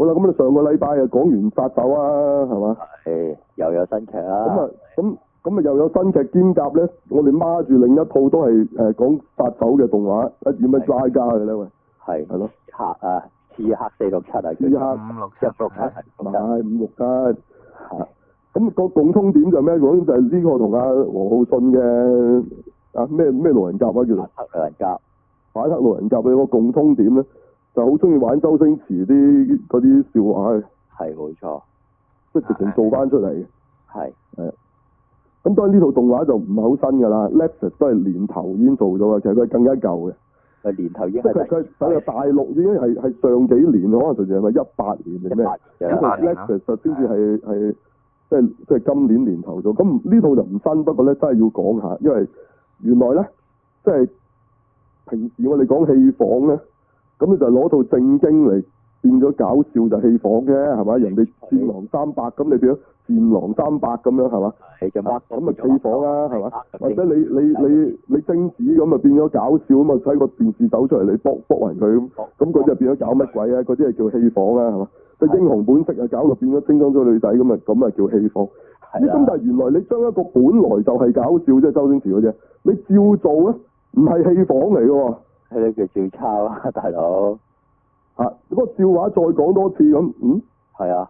好啦，咁你上個禮拜啊講完殺手啊，係嘛？ 係又有新劇啦。 咁啊又有新劇兼夾咧，我哋孖住另一套都係講殺手嘅動畫，點樣拉加嘅咧？喂，係咯， 刺客467啊， 刺客 567， 係567。咁個共通點就係咩？講就係呢個同阿王浩信嘅咩路人甲啊，叫做反黑路人甲。 反黑路人甲嘅個共通點咧，就好中意玩周星馳嗰啲笑話嘅。 係冇錯， 即係直情做翻出嚟嘅。 係。 咁當然呢套動畫就唔係好新㗎啦 ，Netflix 都係年頭已經做咗嘅，其實佢係更加舊嘅。 年頭已經即係佢大陸已經係上幾年，可能甚至係咪18年定咩？咁佢 Netflix 就先至係即係今年年頭做。咁呢套就唔新，不過咧真係要講下，因為原來咧即係平時我哋講戲仿咧，咁你就攞套正經嚟變咗搞笑就戲仿啫，係咪？人哋戰狼300咁，你變咗戰狼300咁樣係嘛？咁咪戲仿啦，係嘛？或者你貞子咁啊變咗搞笑咁啊，睇個電視走出嚟你卜暈佢咁佢就變咗搞乜鬼啊？嗰啲係叫戲仿啦，係嘛？即係英雄本色啊，搞到變咗精裝咗女仔咁啊叫戲仿。咁但係原來你將一個本來就係搞笑，即係周星馳嗰隻，你照做咧，唔係戲仿嚟嘅喎。 係你叫照抄啊，大佬。 嗰個笑話再講多次咁， 係啊。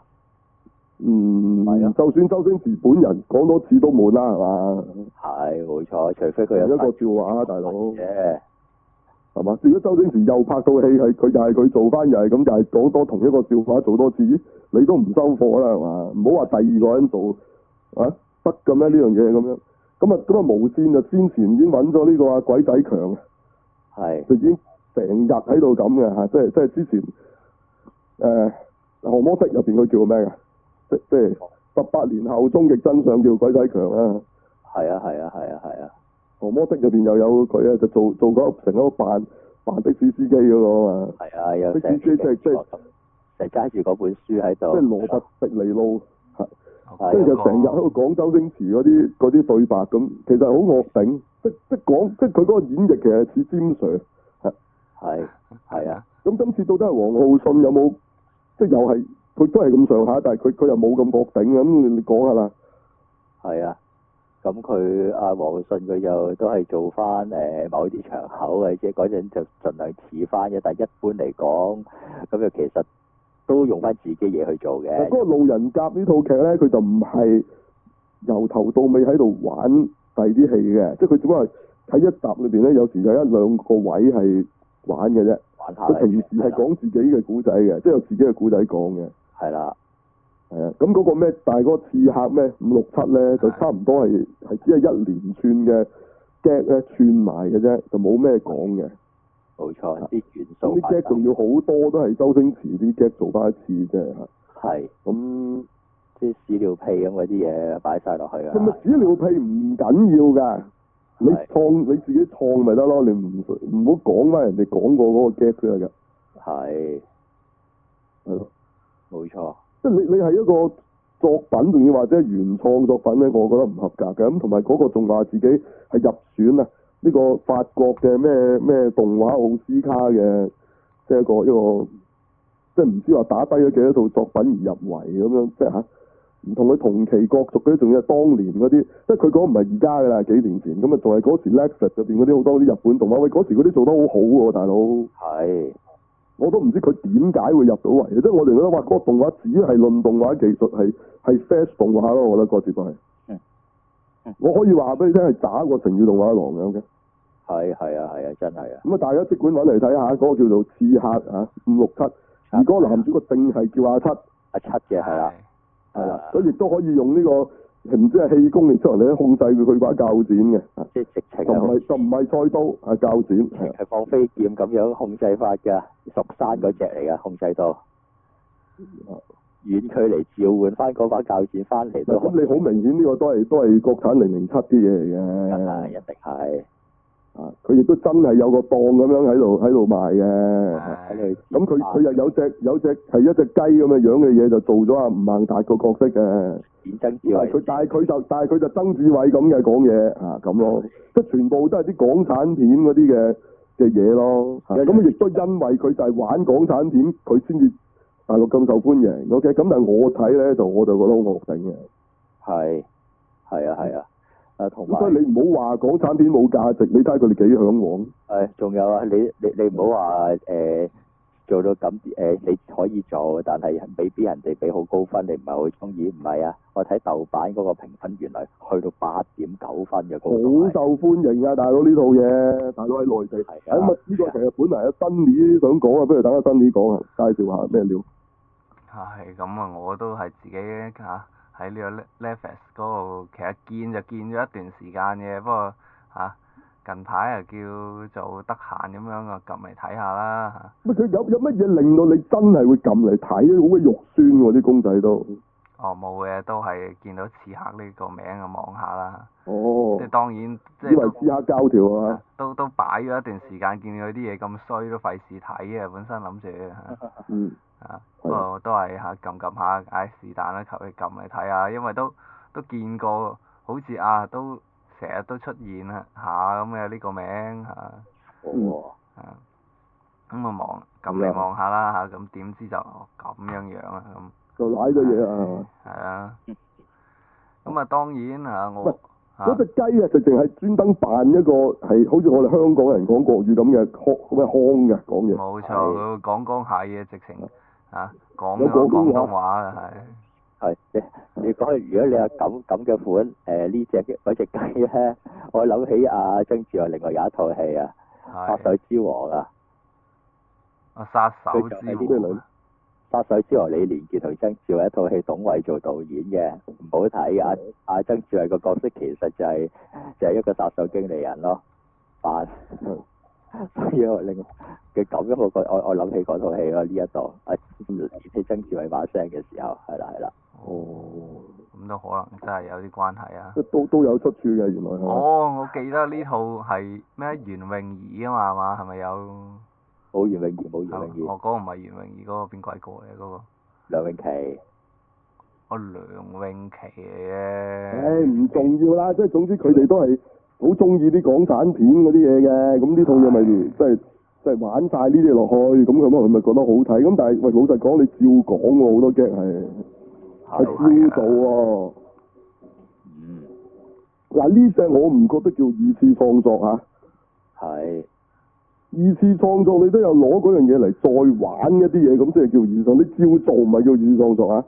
就算周星馳本人講多次都悶啦，係嘛？ 係冇錯，除非佢有一個笑話，大佬。 嘅。係嘛？如果周星馳又拍到戲係佢又係佢做翻，又係咁，又係講多同一個笑話做多次，你都唔收貨啦，係嘛？唔好話第二個人做得嘅咩呢樣嘢咁樣？咁啊無線就先前已經揾咗呢個鬼仔強，就已經成日喺度咁嘅嚇，即係之前降魔式入邊佢叫咩㗎？即係18年後終極真相叫鬼仔強啊！ 係啊！ 降魔式入邊又有佢啊，就做嗰成個扮的士司機嗰個啊嘛。係啊，有的士司機即係成揸住嗰本書喺度。 即係羅拔迪尼路，即係就成日喺度講周星馳嗰啲對白咁，其實好惡頂，即佢嗰個演繹其實似詹 Sir。 係啊。 咁今次到底係王浩信有冇即係又係佢都係咁上下，但係佢又冇咁惡頂咁，你講下啦。 係啊。咁佢王浩信佢就都係做翻某啲場口嘅，即係嗰陣就盡量似翻嘅，但係一般嚟講，咁就其實都用翻自己嘢去做嘅。 嗰個路人甲呢套劇咧，佢就唔係由頭到尾喺度玩第啲戲嘅，即係佢只不過係喺一集裏邊咧，有時有1-2個位係玩嘅啫。玩下。佢平時係講自己嘅古仔嘅，即係有自己嘅古仔講嘅。係啦。係啊，咁嗰個咩？但係嗰個刺客咩567咧，就差唔多係只係一連串嘅 gag 咧串埋嘅啫，就冇咩講嘅。 冇錯，啲元素。 啲 gag 仲要好多都係周星馳啲 gag 做翻一次啫。 係。咁即係屎尿屁咁嗰啲嘢擺晒落去啊！ 咁咪屎尿屁唔緊要㗎，你自己創咪得咯，你唔好講翻人哋講過嗰個 gag 先得㗎。係。係咯。冇錯。即係你係一個作品，仲要或者原創作品咧，我覺得唔合格嘅。咁同埋嗰個仲話自己係入選啊呢個法國嘅咩動畫奧斯卡嘅，即係一個即係唔知話打低咗幾多套作品而入圍咁樣，即係唔同佢同期角逐嗰啲，仲要係當年嗰啲，即係佢講唔係而家㗎啦，幾年前咁啊，仲係嗰時 Netflix 入邊嗰啲好多啲日本動畫，喂嗰時嗰啲做得好好喎，大佬。係。我都唔知佢點解會入到圍，即係我哋覺得話嗰個動畫只係論動畫技術係 fast 動畫咯，我覺得嗰次都係。我可以話俾你聽係渣過成語動畫廊咁嘅。係啊，真係啊。咁啊，大家即管揾嚟睇下，嗰個叫做刺客567，而嗰個男主角正係叫阿七。阿七嘅係啦。係啦，佢亦都可以用呢個。唔知係氣功嚟出嚟咧，控制佢把鉸剪嘅，即係直情就唔係菜刀，係鉸剪，係放飛劍咁樣控制法㗎，蜀山嗰隻嚟㗎，控制到遠距離召喚翻嗰把鉸剪翻嚟都。咁你好明顯呢個都係國產007啲嘢嚟嘅，一定係。佢亦都真係有個檔咁樣喺度賣嘅，咁佢又有隻係一隻雞咁嘅樣嘅嘢，就做咗阿吳孟達個角色嘅。曾志偉。但係佢就曾志偉咁嘅講嘢咁咯，即係全部都係啲港產片嗰啲嘅嘢咯。咁亦都因為佢就係玩港產片，佢先至大陸咁受歡迎，OK，咁但係我睇咧我就覺得好惡頂嘅。 係啊，同埋所以你唔好話港產片冇價值，你睇下佢哋幾嚮往。 仲有啊，你唔好話做到咁你可以做，但係未必人哋俾好高分，你唔係好中意。唔係啊，我睇豆瓣嗰個評分原來去到8.9分嘅， 好受歡迎啊！大佬呢套嘢，大佬喺內地。咁啊，呢個其實本嚟阿新年想講啊，不如等阿新年講啊，介紹下咩料。 係咁啊！我都係自己喺呢個 Netflix 嗰度，其實見就見咗一段時間嘅，不過近排叫做得閒咁樣啊，撳嚟睇下啦嚇。 佢有乜嘢令到你真係會撳嚟睇？好鬼肉酸喎啲公仔都。 哦，冇嘅，都係見到刺客呢個名啊，望下啦。 哦。 即係當然，即係以為刺客膠條啊。 都擺咗一段時間，見佢啲嘢咁衰，都費事睇啊！本身諗住嗯。 不過都係撳下，唉是但啦，求其撳嚟睇下，因為都見過，好似都成日都出現下咁嘅呢個名嚇。咁啊撳嚟望下啦嚇，咁點知就咁樣啊咁。 就賴咗嘢啊！ 係啊。咁啊當然我嗰隻雞直情係專登扮一個係好似我哋香港人講國語咁嘅腔嘅講嘢。 冇錯，佢講下嘢直情講咗廣東話嘅係。 你講如果你有咁嘅款嗰隻雞咧，我諗起曾志偉另外有一套戲啊，《殺手之王》啊。 殺手之王。 殺手之王李連杰同曾志偉一套戲，董偉做導演嘅，唔好睇啊！曾志偉個角色其實就係一個殺手經理人咯，扮。所以我另嘅咁樣我諗起嗰套戲咯，呢一度起曾志偉把聲嘅時候，係啦。 哦。 咁都可能真係有啲關係啊！ 都有出處嘅原來。 我記得呢套係咩袁詠儀啊嘛，係咪有？ 冇袁詠儀。 嗰個唔係袁詠儀，嗰個邊鬼個嚟嗰個？ 梁詠琪。 梁詠琪嘅。 唔重要啦，即係總之佢哋都係好中意啲港產片嗰啲嘢嘅，咁呢套嘢咪即係玩晒呢啲落去，咁佢咪覺得好睇。咁但係喂，老實講，你照講喎，好多 gag 係照做喎。嗱呢隻我唔覺得叫二次創作嚇。係。二次創作你都有攞嗰樣嘢嚟再玩一啲嘢，咁即係叫二次創作。你照做唔係叫二次創作啊？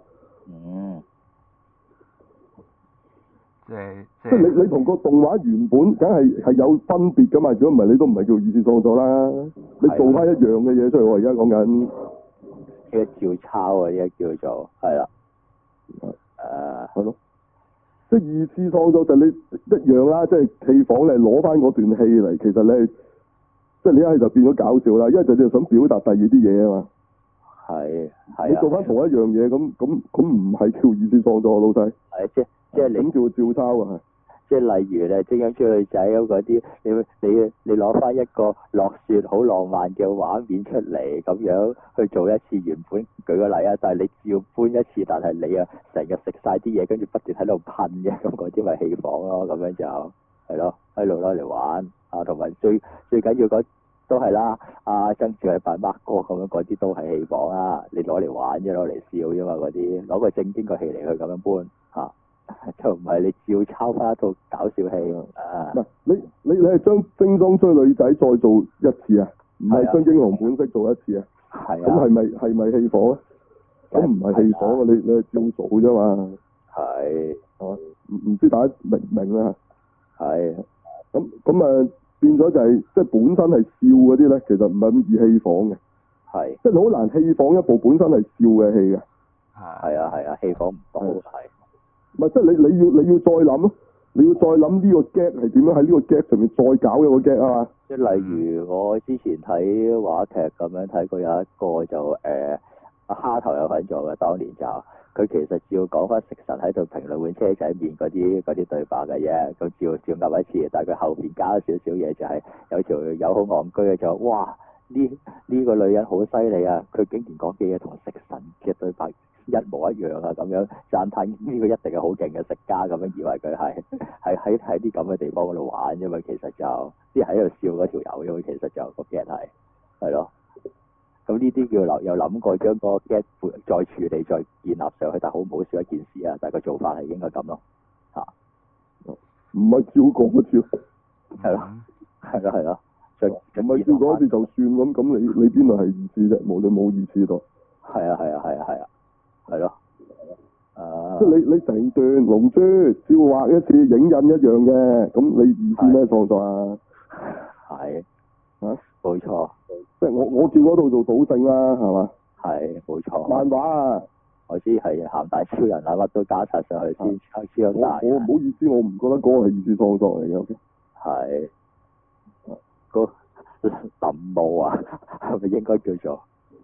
即係你同個動畫原本梗係有分別噶嘛？如果唔係你都唔係叫二次創作啦。你做翻一樣嘅嘢出嚟，我而家講緊。 呢個照抄啊！呢個叫做係啦。 係咯。即係二次創作就你一樣啦，即係戲房你攞翻嗰段戲嚟，其實你即係你一係就變咗搞笑啦，一係就你想表達第二啲嘢啊嘛。係。你做翻同一樣嘢，咁唔係叫二次創作，老細。係即係你叫照抄啊！ 即係例如咧，精英追女仔咁嗰啲，你攞翻一個落雪好浪漫嘅畫面出嚟，咁樣去做一次原本，舉個例啊，但係你照搬一次，但係你成日食晒啲嘢，跟住不斷喺度噴嘅，咁嗰啲咪戲仿咯，咁樣就係咯，喺度攞嚟玩同埋最緊要都係啦，曾志偉扮 Mark 哥咁樣嗰啲都係戲仿啊，你攞嚟玩啫，攞嚟笑啫嘛，嗰啲攞個正經個戲嚟去咁樣搬就唔係你照抄翻一套搞笑戲唔係你係將精裝追女仔再做一次啊？唔係將英雄本色做一次啊？係啊。咁係咪戲仿啊？咁唔係戲仿啊！你係照做啫嘛。係嘛？唔知大家明唔明啊？係。咁變咗就係即係本身係笑嗰啲咧，其實唔係咁易戲仿嘅。係。即係好難戲仿一部本身係笑嘅戲嘅。係啊，戲仿唔到係。唔係，即係你要再諗咯，你要再諗呢個 gag 係點樣喺呢個 gag 上面再搞一個 gag 啊嘛。 即係例如我之前睇話劇咁樣睇過有一個就蝦頭有份做嘅，當年就佢其實照講翻食神喺度評論碗車仔麵嗰啲對白嘅啫，咁照噏一次，但係佢後邊加咗少少嘢，就係有條友好戇居嘅就哇呢個女人好犀利啊！佢竟然講嘅嘢同食神嘅對白一模一樣啊！咁樣讚歎呢個一定係好勁嘅食家，咁樣以為佢係喺啲咁嘅地方嗰度玩啫嘛，其實就啲喺度笑嗰條友，因為其實就個 get 係咯。 咁呢啲叫有諗過將個 get 再處理再建立上去，但係好唔好笑一件事啊！但係個做法係應該咁咯， 唔係照講一次， 係咯，係咯， 唔係照講一次就算咁，你邊度係二次啫？你冇二次到。係咯， 即係你成段龍珠照畫一次，影印一樣嘅，咁你二次咩創作啊？ 係。 嚇？ 冇錯。 即係我照嗰度做賭聖啦，係嘛？ 係，冇錯。 漫畫啊！ 我知係鹹帶超人啊，乜都加晒上去先超大。 我唔好意思，我唔覺得嗰個係二次創作嚟嘅。OK。係。 個林霧啊，係咪應該叫做？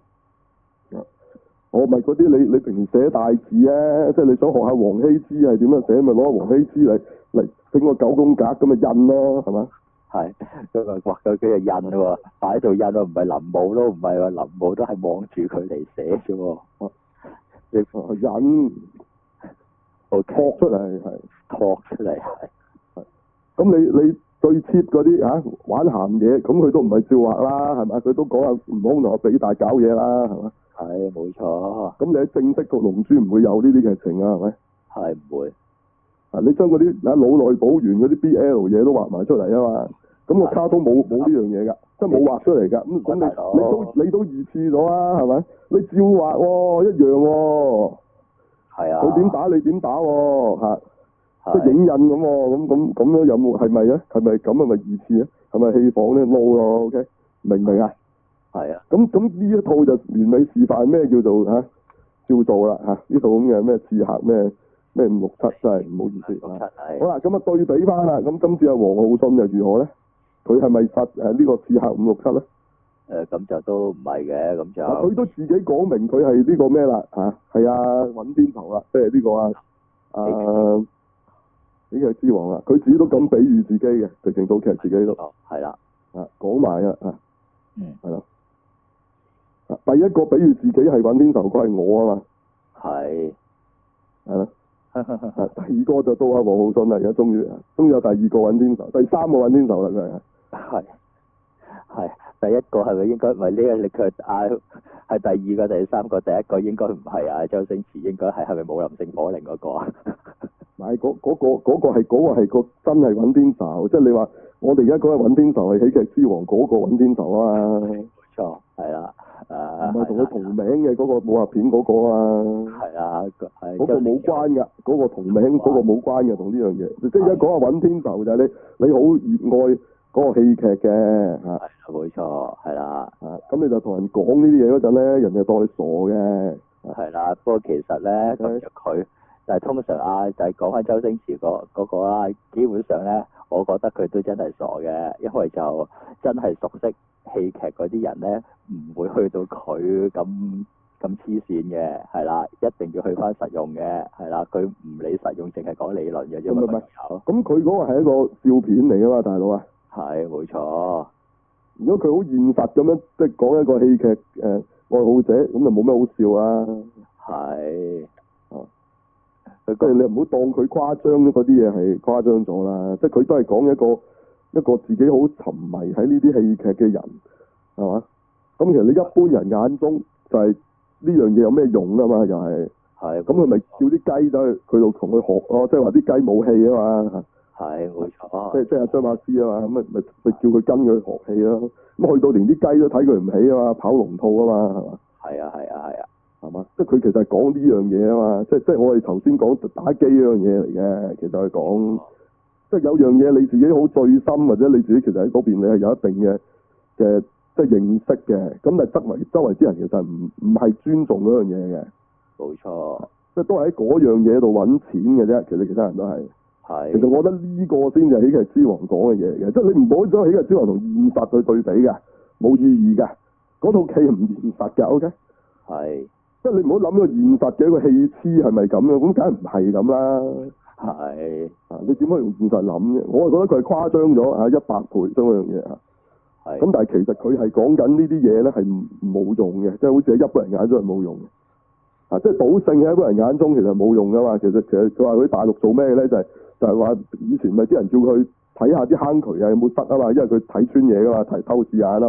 我咪嗰啲你平時寫大字啊，即係你想學下王羲之係點樣寫，咪攞王羲之嚟整個九宮格咁咪印咯，係嘛？係， 佢咪畫佢嘅印喎，擺喺度印喎，唔係臨摹咯，唔係話臨摹都係望住佢嚟寫啫喎。 印，托出嚟係， 托出嚟係。 咁你最 cheap 嗰啲玩鹹嘢，咁佢都唔係照畫啦，係咪？佢都講下悟空同阿比大搞嘢啦，係嘛？ 係，冇錯。 咁你喺正式個龍珠唔會有呢啲劇情啊，係咪？ 係唔會。 你將嗰啲腦內補完嗰啲 BL 嘢都畫埋出嚟啊嘛，咁個卡通冇呢樣嘢㗎，即係冇畫出嚟㗎。咁你都二次咗啊，係咪？你照畫喎，一樣喎。係啊。佢點打你點打喎，即係影印咁喎，咁樣有冇係咪啊？係咪咁係咪二次啊？係咪戲仿咧撈咯 ？OK， 明唔明啊？係啊。咁呢一套就完美示範咩叫做照做啦呢套咁嘅咩刺客咩567真係唔好意思啊。好啦，咁對比翻啦，咁今次阿王浩信又如何咧？佢係咪實呢個刺客567咧？ 咁就都唔係嘅，咁就佢都自己講明佢係呢個咩啦係尹天仇啦，即係呢個喜劇之王啦，佢自己都咁比喻自己嘅，直情套劇自己都係啦， 講埋係啦，第一個比喻自己係尹天仇，嗰係我啊嘛，係啦，第二個就到阿王浩信啦，而家終於有第二個尹天仇，第三個尹天仇啦佢係第一個係咪應該唔係呢個？佢係第二個、第三個，第一個應該唔係周星馳，應該係咪武林聖火令嗰個啊？ 唔係嗰個係個真係尹天仇，即係你話我哋而家講嘅尹天仇係喜劇之王嗰個尹天仇啊嘛。冇錯，係啦， 唔係同佢同名嘅嗰個武俠片嗰個啊。係啊，嗰個冇關㗎，嗰個同名嗰個冇關嘅同呢樣嘢。即係而家講下尹天仇就係你好熱愛嗰個戲劇嘅係冇錯，係啦。 咁你就同人講呢啲嘢嗰陣咧，人哋當你傻嘅。 係啦，不過其實咧咁就佢。但係通常就係講翻周星馳嗰個啦，基本上咧，我覺得佢都真係傻嘅，因為就真係熟悉戲劇嗰啲人咧，唔會去到佢咁黐線嘅，係啦，一定要去翻實用嘅，係啦，佢唔理實用，淨係講理論嘅啫嘛。 咁佢嗰個係一個笑片嚟㗎嘛，大佬啊。係，冇錯。如果佢好現實咁樣，即係講一個戲劇愛好者，咁就冇咩好笑啊。係。即係你唔好當佢誇張嗰啲嘢係誇張咗啦，即係佢都係講一個自己好沉迷喺呢啲戲劇嘅人，係嘛？咁其實你一般人眼中就係呢樣嘢有咩用啊嘛？又係，咁佢咪叫啲雞走去佢度同佢學咯，即係話啲雞冇氣啊嘛。係，冇錯。即係阿張馬師啊嘛，咁咪叫佢跟佢學戲咯。咁去到連啲雞都睇佢唔起啊嘛，跑龍套啊嘛，係嘛？係啊。係嘛？即係佢其實係講呢樣嘢啊嘛，即係我哋頭先講打機嗰樣嘢嚟嘅，其實係講，即係有樣嘢你自己好醉心，或者你自己其實喺嗰邊你係有一定嘅即係認識嘅，咁但係周圍啲人其實唔係尊重嗰樣嘢嘅。冇錯。即係都係喺嗰樣嘢度揾錢嘅啫，其他人都係。係。其實我覺得呢個先至係喜劇之王講嘅嘢嘅，即係你唔好將喜劇之王同現實去對比嘅，冇意義嘅，嗰套戲唔現實嘅 ，OK？係。即係你唔好諗個現實嘅一個戲痴係咪咁樣？咁梗係唔係咁啦。係。你點可以用現實諗啫？我係覺得佢係誇張咗100倍將嗰樣嘢。係。咁但係其實佢係講緊呢啲嘢咧係冇用嘅，即係好似喺一般人眼中係冇用嘅。即係賭聖喺一般人眼中其實冇用噶嘛。其實佢話佢大陸做咩咧？就係話以前咪啲人叫佢睇下啲坑渠有冇塞啊嘛，因為佢睇穿嘢噶嘛，偷視眼啊嘛。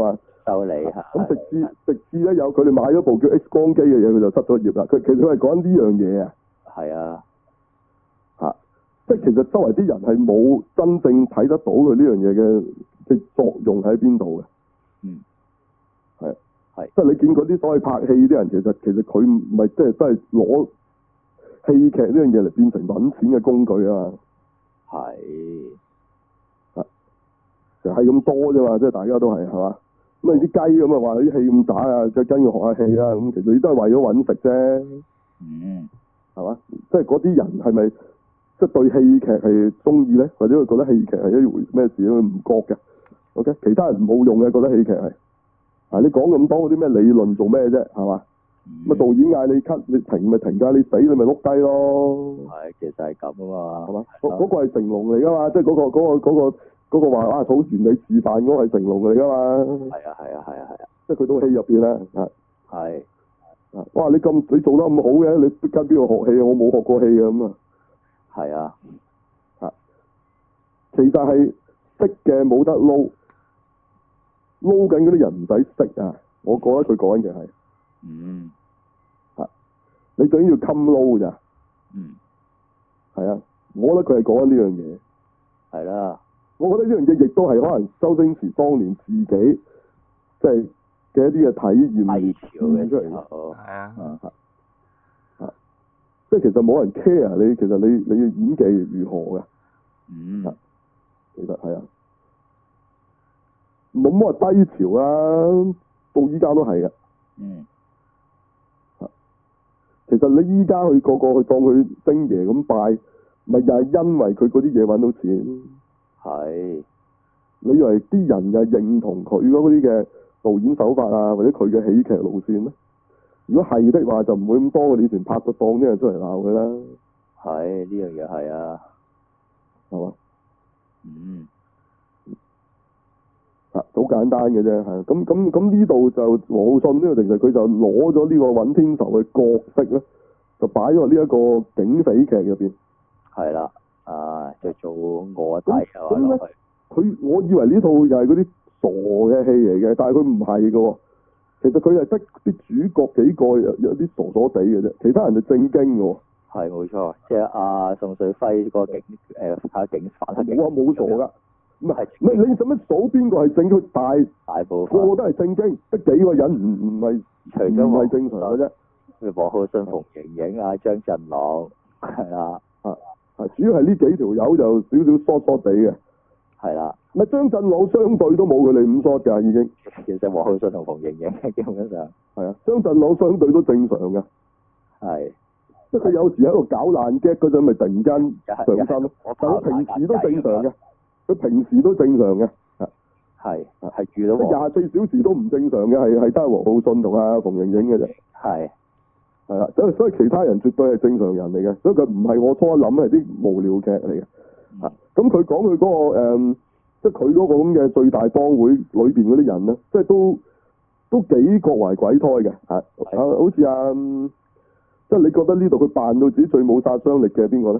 收你咁直至咧有佢哋買咗部叫 X 光機嘅嘢，佢就失咗業啦。其實佢係講緊呢樣嘢啊。 係啊。 即係其實周圍啲人係冇真正睇得到佢呢樣嘢嘅作用喺邊度嘅。 嗯。係。 即係你見嗰啲所謂拍戲啲人，其實佢唔係即係都係攞戲劇呢樣嘢嚟變成揾錢嘅工具啊嘛。 係。 就係咁多啫嘛，即係大家都係嘛。咁你啲雞咁啊話啲戲咁渣啊，即係跟佢學下戲啦。咁其實你都係為咗揾食啫。 嗯。係嘛？即係嗰啲人係咪即係對戲劇係中意咧？或者佢覺得戲劇係一回咩事咧？佢唔覺嘅。OK， 其他人冇用嘅，覺得戲劇係。你講咁多嗰啲咩理論做咩啫？係嘛？咁導演嗌你 cut，你停咪停㗎，你死你咪碌低咯。 係，其實係咁啊嘛。係嘛？ 嗰個係成龍嚟㗎嘛，即係嗰個話啊，好完美示範嗰個係成龍嚟㗎嘛。係啊。即係佢套戲入邊咧， 係。 哇！你做得咁好嘅，你跟邊個學戲啊？我冇學過戲嘅咁啊。 係啊。 其實係識嘅冇得撈緊嗰啲人唔使識啊！我覺得佢講緊嘅係。 嗯。 你最緊要襟撈咋？ 嗯。係啊，我覺得佢係講緊呢樣嘢。 係啦。 我覺得呢樣嘢亦都係可能周星馳當年自己即係嘅一啲嘅體驗出嚟嘅。 係啊。 即係其實冇人 care 你，其實你嘅演技如何嘅。 嗯。 其實係啊。冇乜話低潮啊，到依家都係嘅。 嗯。 其實你依家去個去當佢星爺咁拜，咪又係因為佢嗰啲嘢揾到錢。係。你以為啲人又係認同佢嗰啲嘅導演手法啊，或者佢嘅喜劇路線咩？如果係的話，就唔會咁多你以前拍個檔啲人出嚟鬧佢啦。 係，呢樣嘢係啊。 係嘛？ 嗯。 好簡單嘅啫，係咁呢度就王浩信呢個其實佢就攞咗呢個尹天仇嘅角色咧，就擺咗呢一個警匪劇入邊。係啦， 就做臥底啊咁咧，我以為呢套又係嗰啲傻嘅戲嚟嘅，但係佢唔係嘅。其實佢係得啲主角幾個有啲傻傻地嘅啫，其他人就正經嘅。 係冇錯，即係宋瑞輝個警反黑警。 我話冇傻㗎。唔係，你使乜數邊個係正經？大部分個個都係正經，得幾個人唔係，除咗唔係正常嘅啫。 王浩信、馮盈盈啊、張振朗係啦， 主要係呢幾條友就少少疏疏地嘅。係啦，咪張振朗相對都冇佢哋咁疏㗎，已經。 其實王浩信同馮盈盈基本上係啊，張振朗相對都正常嘅。係，即係佢有時喺度搞爛 gag 嗰陣，咪突然間上身咯。但係佢平時都正常嘅。佢平時都正常嘅，係遇到24小時都唔正常嘅，係得王浩信同阿馮盈盈嘅啫。係啦，所以其他人絕對係正常人嚟嘅，所以佢唔係我初諗係啲無聊劇嚟嘅。咁佢講佢嗰個即係佢嗰個咁嘅最大幫會裏邊嗰啲人咧，即係都幾各懷鬼胎嘅，好似即係你覺得呢度佢扮到自己最冇殺傷力嘅係邊個咧？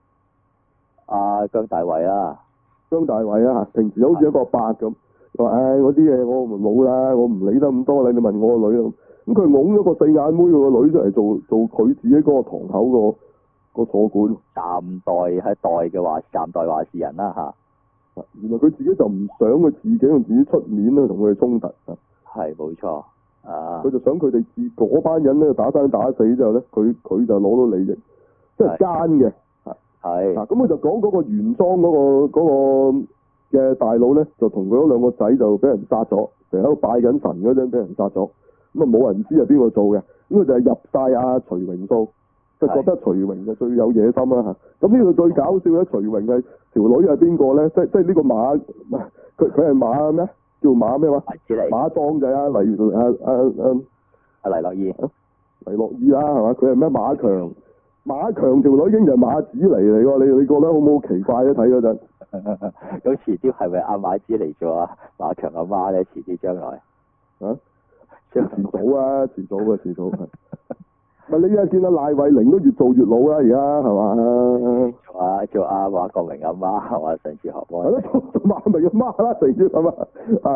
姜大衛啊！姜大衛啊，平時好似一個伯咁，話嗰啲嘢我冇啦，我唔理得咁多啦，你問我個女咁佢擁咗個四眼妹佢個女出嚟做佢自己嗰個堂口個坐館，暫代話事人啦嚇。原來佢自己就唔想佢自己用自己出面咧同佢哋衝突啊。係冇錯佢就想佢哋嗰班人咧打生打死之後咧，佢就攞到利益，即係奸嘅。係咁佢就講嗰個原裝嗰個嘅大佬咧，就同佢嗰兩個仔就俾人殺咗，成日喺度拜緊神嗰陣俾人殺咗，咁啊冇人知係邊個做嘅，咁佢就係入晒阿徐榮數，就覺得徐榮就最有野心啦嚇。咁呢度最搞笑咧，徐榮係條女係邊個咧？即係呢個馬，佢係馬咩？叫馬咩話？馬壯就係阿黎樂意，黎樂意啦係嘛？佢係咩馬強？馬強條女已經就係馬子嚟喎，你覺得好唔好奇怪咧？睇嗰陣，咁遲啲係咪阿馬子嚟做啊？馬強阿媽咧，遲啲將來遲早係。咪你而家見到賴慧玲都越做越老啦，而家係嘛？做阿馬國明阿媽係嘛？上次學波。係咯，做馬明阿媽啦，成日係嘛？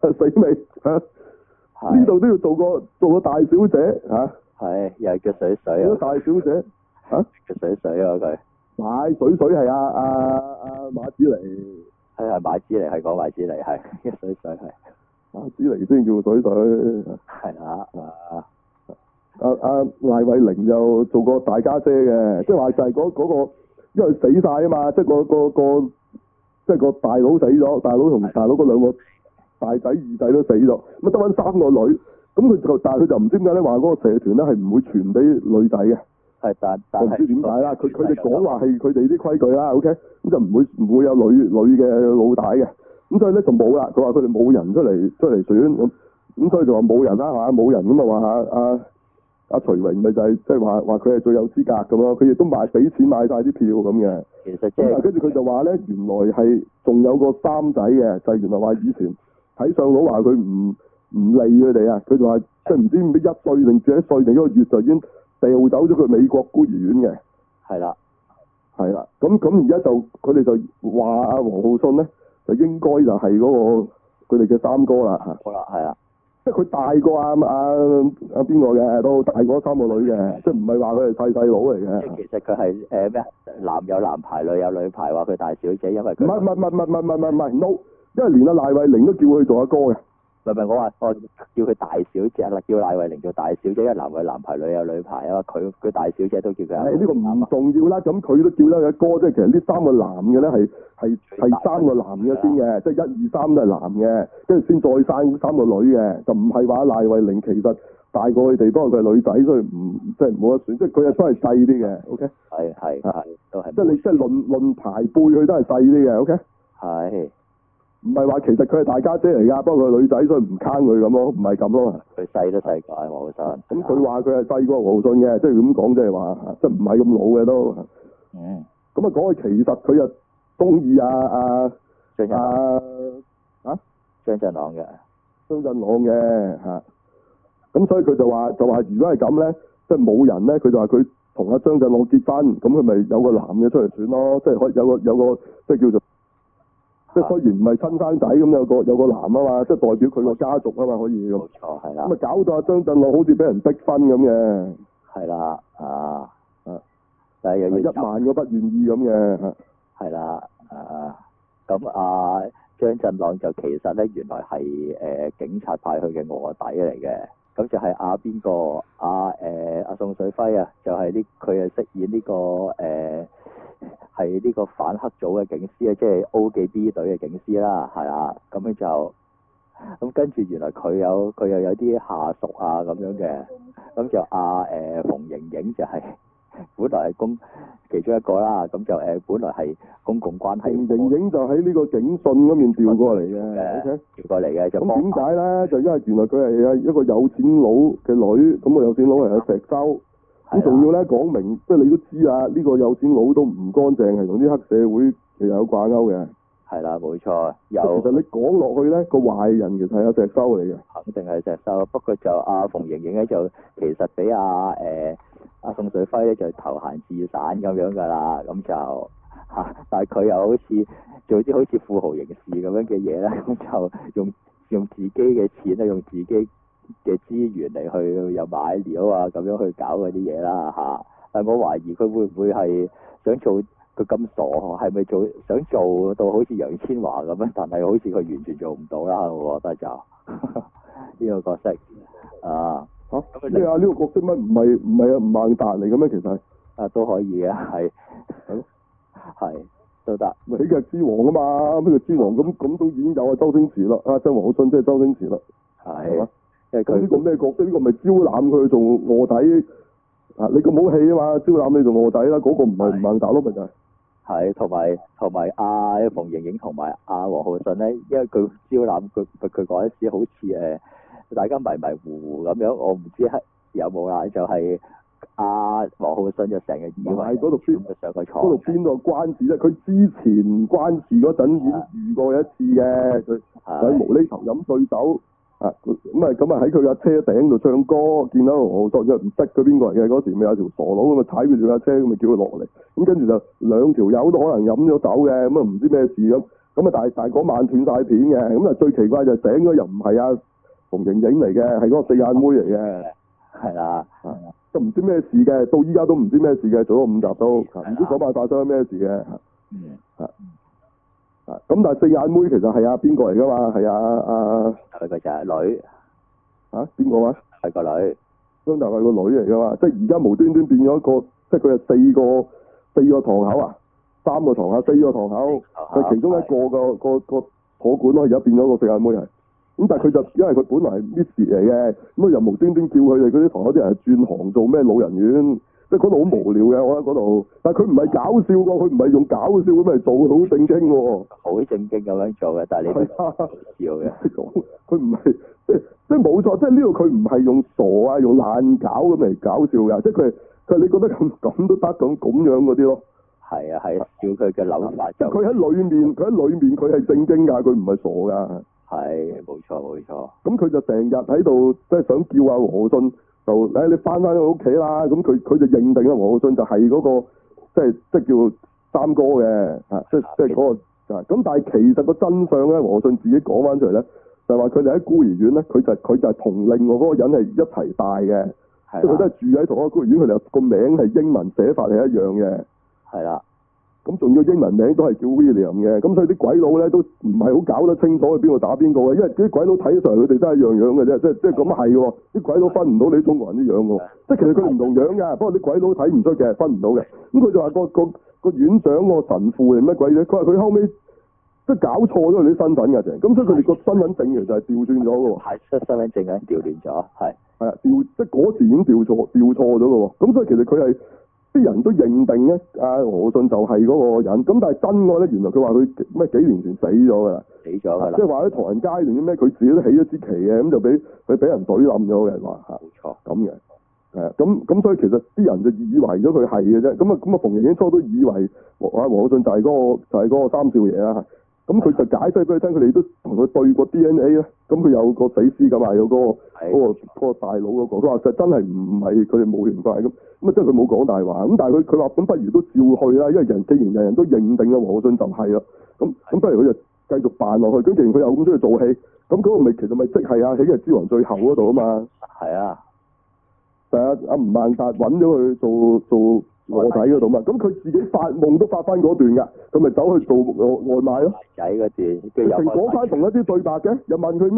死未嚇？呢度都要做個大小姐嚇。 係，又係叫水水啊！ 大小姐嚇？ 叫水水啊佢。 買水水係阿馬子尼。 係馬子尼係講馬子尼係，水水係。 馬子尼先叫水水。 係啦阿賴慧玲就做過大家姐嘅，即係話就係嗰個，因為死晒啊嘛，即係即係個大佬死咗，大佬同大佬嗰兩個大仔二仔都死咗，咁得翻3個女，咁但係佢就唔知點解咧，話嗰個社團咧係唔會傳俾女仔嘅。係，但係唔知點解啦，佢哋講話係佢哋啲規矩啦 ，OK， 咁就唔會有女嘅老大嘅，咁所以咧就冇啦。佢話佢哋冇人出嚟選，咁所以就話冇人啦嚇，冇人咁啊話阿徐榮咪就係即係話佢係最有資格咁咯，佢亦都俾錢買晒啲票咁嘅。 其實即係跟住佢就話咧，原來係仲有個三仔嘅，就係原來話以前睇相佬話佢唔理佢哋啊，佢就話即係唔知1歲定幾歲定1個月就已經掉走咗佢美國孤兒院嘅。係啦，咁而家就佢哋就話阿王浩信咧，就應該就係嗰個佢哋嘅三哥啦嚇。好啦，係啊。即係佢大過阿邊個嘅，都大過3個女嘅，即係唔係話佢係細佬嚟嘅。即係其實佢係咩男有男牌，女有女牌，話佢大小姐，因為佢唔係 no， 因為連阿賴慧玲都叫佢做阿哥嘅。唔係我話我叫佢大小姐啦，叫賴慧玲做大小姐，因為男有男牌，女有女牌啊嘛，佢大小姐都叫佢。呢個唔重要啦，咁佢都叫得佢阿哥，即係其實呢3個男嘅咧係3個男嘅先嘅，即係1、2、3都係男嘅，跟住先再生3個女嘅，就唔係話賴慧玲其實大過佢哋，不過佢係女仔，所以即係冇得選，即係佢係都係細啲嘅 ，OK？係都係。即係你即係論排輩，佢都係細啲嘅 ，OK？係。唔係話其實佢係大家姐嚟㗎，不過佢係女仔，所以唔坑佢咁咯，唔係咁咯。佢細都細過黃浩信。咁佢話佢係細過黃浩信嘅，即係咁講，即係話即係唔係咁老嘅都。咁啊講佢其實佢又中意張振朗嘅。張振朗嘅嚇。咁所以佢就話如果係咁咧，即係冇人咧，佢就話佢同阿張振朗結婚，咁佢咪有個男嘅出嚟選咯，即係可以有個即係叫做。即係雖然唔係親生仔咁，有個男啊嘛，即係代表佢個家族啊嘛，可以咁。冇錯，係啦。咁啊搞到阿張振朗好似俾人逼婚咁嘅。係啦，但係又要1萬個不願意咁嘅。係啦，咁張振朗就其實咧原來係警察派去嘅臥底嚟嘅，咁就係邊個阿宋水輝啊，就係佢係飾演呢個係呢個反黑組嘅警司啊，即係 O 記 B 隊嘅警司啦，係啦，咁樣就咁跟住原來佢又有啲下屬啊咁樣嘅，咁就馮盈盈就係本來係其中一個啦，咁就本來係公共關係。馮盈盈就喺呢個警訊嗰邊調過嚟嘅，調過嚟嘅就咁點解咧？就因為原來佢係一個有錢佬嘅女，咁個有錢佬係阿石修。咁仲要咧講明，即係你都知啦，呢個有錢佬都唔乾淨，係同啲黑社會其實有掛鈎嘅。係啦，冇錯。其實你講落去咧，個壞人其實係阿石修嚟嘅。肯定係石修，不過就馮盈盈咧就其實俾阿宋水輝咧就投閒自散咁樣㗎啦，咁就但係佢又好似做啲好似富豪刑事咁樣嘅嘢咧，咁就用自己嘅錢啊，用自己嘅資源嚟去又買料啊，咁樣去搞嗰啲嘢啦嚇。但係我懷疑佢會唔會係想做佢咁傻，係咪想做到好似楊千嬅咁樣？但係好似佢完全做唔到啦，我覺得就呢個角色咩啊？呢個角色乜唔係吳孟達嚟嘅咩？其實都可以嘅，係都得。喜劇之王啊嘛，喜劇之王咁都已經有周星馳啦，周王浩信即係周星馳啦，係嘛？咁呢個咩角色？呢個咪招攬佢做臥底你咁好戲啊嘛！招攬你做臥底啦，嗰個唔係吳孟達咯，咪就係。係，同埋馮盈盈同埋王浩信咧，因為佢招攬佢嗰陣時好似大家迷迷糊糊咁樣，我唔知有冇啦，就係王浩信就成日以為嗰度邊上個床，嗰度邊個關事咧？佢之前關事嗰陣已經遇過一次嘅，佢喺無厘頭飲醉酒。咁啊喺佢架車頂度唱歌，見到王浩信又唔識佢邊個嚟嘅，嗰時咪有條傻佬咁啊踩住架車咁咪叫佢落嚟，咁跟住就2條友都可能飲咗酒嘅，咁啊唔知咩事咁， 咁啊，但係嗰晚斷晒片嘅，咁啊最奇怪就醒咗又唔係阿馮盈盈嚟嘅，係嗰個四眼妹嚟嘅。 係啦。 都唔知咩事嘅，到依家都唔知咩事嘅，做咗5集都，唔知嗰晚發生咩事嘅。咁但係四眼妹其實係邊個嚟㗎嘛？係佢就係女。 邊個啊？ 係個女。 張達係個女嚟㗎嘛？即係而家無端端變咗一個，即係佢係四個堂口啊，3個堂口，4個堂口，佢其中一個個坐館咯，而家變咗個四眼妹係。咁但係佢就因為佢本來係 Miss 嚟嘅，咁又無端端叫佢哋嗰啲堂口啲人轉行做咩老人院，即係嗰度好無聊嘅，我覺得嗰度。但係佢唔係搞笑㗎，佢唔係用搞笑咁嚟做，好正經喎。好正經咁樣做嘅，但係你都笑嘅。 佢唔係即係冇錯，即係呢度佢唔係用傻啊，用爛搞咁嚟搞笑㗎，即係佢你覺得咁都得咁樣嗰啲咯。 係啊，笑佢嘅諗法就。 佢喺裏面佢係正經㗎，佢唔係傻㗎。 係，冇錯。 咁佢就成日喺度，即係想叫阿和信就，你翻去屋企啦。咁佢就認定阿和信就係嗰個，即係叫三哥嘅，即係嗰個。咁但係其實個真相咧，和信自己講翻出嚟咧，就係話佢哋喺孤兒院咧，佢就係同另外嗰個人係一齊大嘅，即係佢都係住喺同一個孤兒院，佢哋個名係英文寫法係一樣嘅。係啦。咁仲要英文名都係叫 William 嘅，咁所以啲鬼佬咧都唔係好搞得清楚佢邊個打邊個嘅，因為啲鬼佬睇上嚟佢哋都係一樣樣嘅啫，即係咁係喎，啲鬼佬分唔到你中國人啲樣喎，即係其實佢唔同樣㗎，不過啲鬼佬睇唔出嘅，分唔到嘅。咁佢就話個院長個神父定乜鬼嘢？佢話佢後尾即係搞錯咗佢啲身份㗎，咁所以佢哋個身份證其實係調轉咗嘅喎。係，身份證已經調亂咗，係啊，即係嗰時已經調錯咗嘅喎，咁所以其實佢係。啲人都認定咧，阿和信就係嗰個人。咁但係真愛咧，原來佢話佢咩幾年前死咗㗎啦，即係話喺唐人街定啲咩，佢自己都起咗支旗嘅，咁就俾人懟冧咗嘅話嚇。冇錯。咁嘅，係啊，咁所以其實啲人就以為咗佢係嘅啫。咁啊，馮盈盈初都以為和信就係嗰個三少爺啦。咁佢就解釋俾佢聽，佢哋都同佢對過 DNA 咧。咁佢有個死屍咁話有嗰個大佬嗰個，佢話就真係唔係佢哋冇緣分咁。咁啊，即係佢冇講大話。咁但係佢話咁不如都照去啦，因為既然人人都認定啊和信就係啦。咁不如佢就繼續扮落去。咁既然佢又咁中意做戲，咁嗰個咪其實咪即係啊喜劇之王最後嗰度啊嘛。係啊。就係阿吳孟達揾咗佢做臥底嗰度嘛，咁佢自己發夢都發翻嗰段㗎，佢咪走去做外賣咯。仔嗰段，佢成講翻同一啲對白嘅，又問佢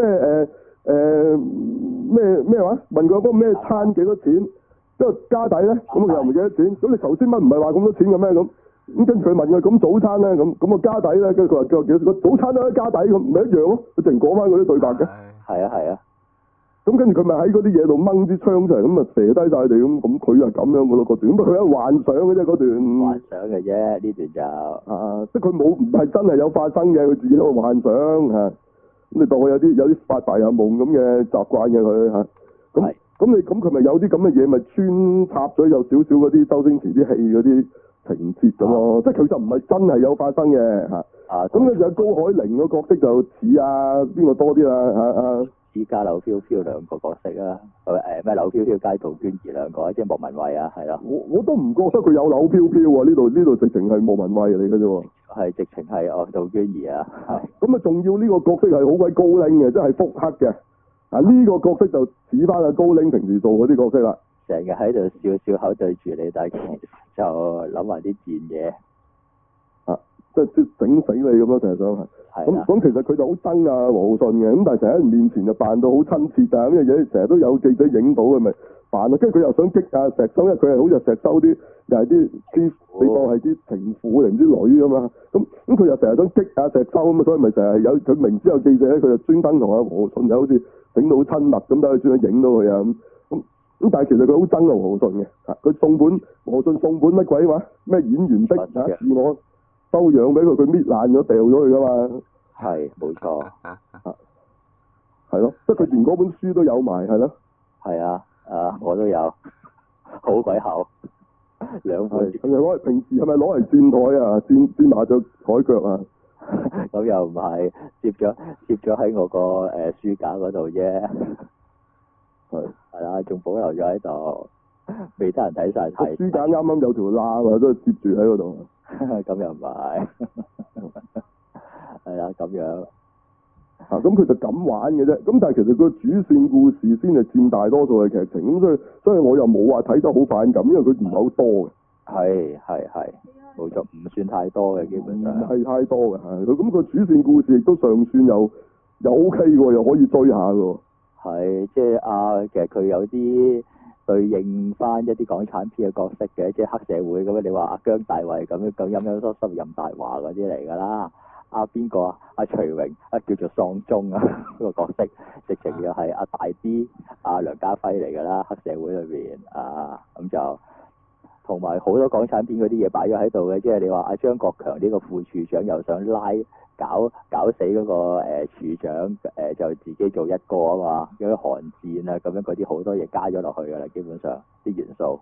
咩話？問佢嗰個咩餐幾多錢？即係加底咧，咁佢又唔記得錢。咁你頭先乜唔係話咁多錢嘅咩咁？咁跟住佢問佢咁早餐咧，咁個加底咧，跟住佢話幾多？個早餐都係加底咁，唔係一樣咯。佢淨講翻嗰啲對白嘅。係啊。咁跟住佢咪喺嗰啲嘢度掹支槍出嚟，咁啊射低晒佢哋咁佢係咁樣嘅咯嗰段，咁佢係幻想嘅啫嗰段。幻想嘅啫呢段就即係佢唔係真係有發生嘅，佢自己喺度幻想嚇。咁你當佢有啲發白日夢咁嘅習慣嘅佢嚇。咁佢咪有啲咁嘅嘢咪穿插咗有少少嗰啲周星馳啲戲嗰啲情節咁咯，即係佢就唔係真係有發生嘅嚇。咁咧就高海寧個角色就似邊個多啲啦嚇依家柳飄飄兩個角色啊，咩柳飄飄加杜娟兒兩個，即係莫文蔚啊，係啦。我都唔覺得佢有柳飄飄喎，呢度直情係莫文蔚嚟嘅啫喎。係直情係杜娟兒啊。咁啊，仲要呢個角色係好鬼高冷嘅，即係腹黑嘅。呢個角色就似翻阿高冷平時做嗰啲角色啦。成日喺度笑口對住你，但係就諗埋啲賤嘢。即係整死你咁咯，成日想係。咁其實佢就好憎啊和信嘅，咁但係成日喺面前就扮到好親切啊，咁嘅嘢成日都有記者影到嘅咪扮啊，跟住佢又想激啊石修，因為佢係好似石修啲，又係啲你當係啲情婦定啲女咁嘛，咁佢又成日想激啊石修咁啊，所以咪成日有佢明知有記者咧，佢就專登同阿和信又好似整到好親密咁，等佢專登影到佢啊咁但係其實佢好憎啊和信嘅，佢和信送本乜鬼話咩演員的自我收養俾佢搣爛咗掉咗佢噶嘛？係，冇錯。係咯，即係佢連嗰本書都有埋，係咯。係啊，我都有，好鬼厚，兩本。係咪平時係咪攞嚟墊台啊？墊麻雀台腳啊？咁又唔係，攝咗喺我個書架嗰度啫。係啦，仲保留咗喺度，未得人睇晒睇。書架啱啱有條罅啊，都攝住喺嗰度。咁又唔係， 係啦，咁樣。 咁佢就咁玩嘅啫。咁但係其實個主線故事先係佔大多數嘅劇情，咁所以我又冇話睇得好反感，因為佢唔係好多嘅。 係，冇錯，唔算太多嘅基本上。 唔係太多嘅，係佢咁個主線故事亦都尚算又 OK 喎，又可以追下嘅。 係，即係其實佢有啲對應翻一啲港產片嘅角色嘅，即係黑社會咁樣。你話阿姜大衛咁樣咁陰陰濕濕任大華嗰啲嚟㗎啦。邊個啊？阿徐榮叫做喪鐘啊，嗰個角色直情又係阿大 B 梁家輝嚟㗎啦，黑社會裏邊咁就同埋好多港產片嗰啲嘢擺咗喺度嘅，即係你話阿張國強呢個副處長又想搞死嗰個處長就自己做一個啊嘛，嗰啲寒戰啊咁樣嗰啲好多嘢加咗落去㗎啦，基本上啲元素。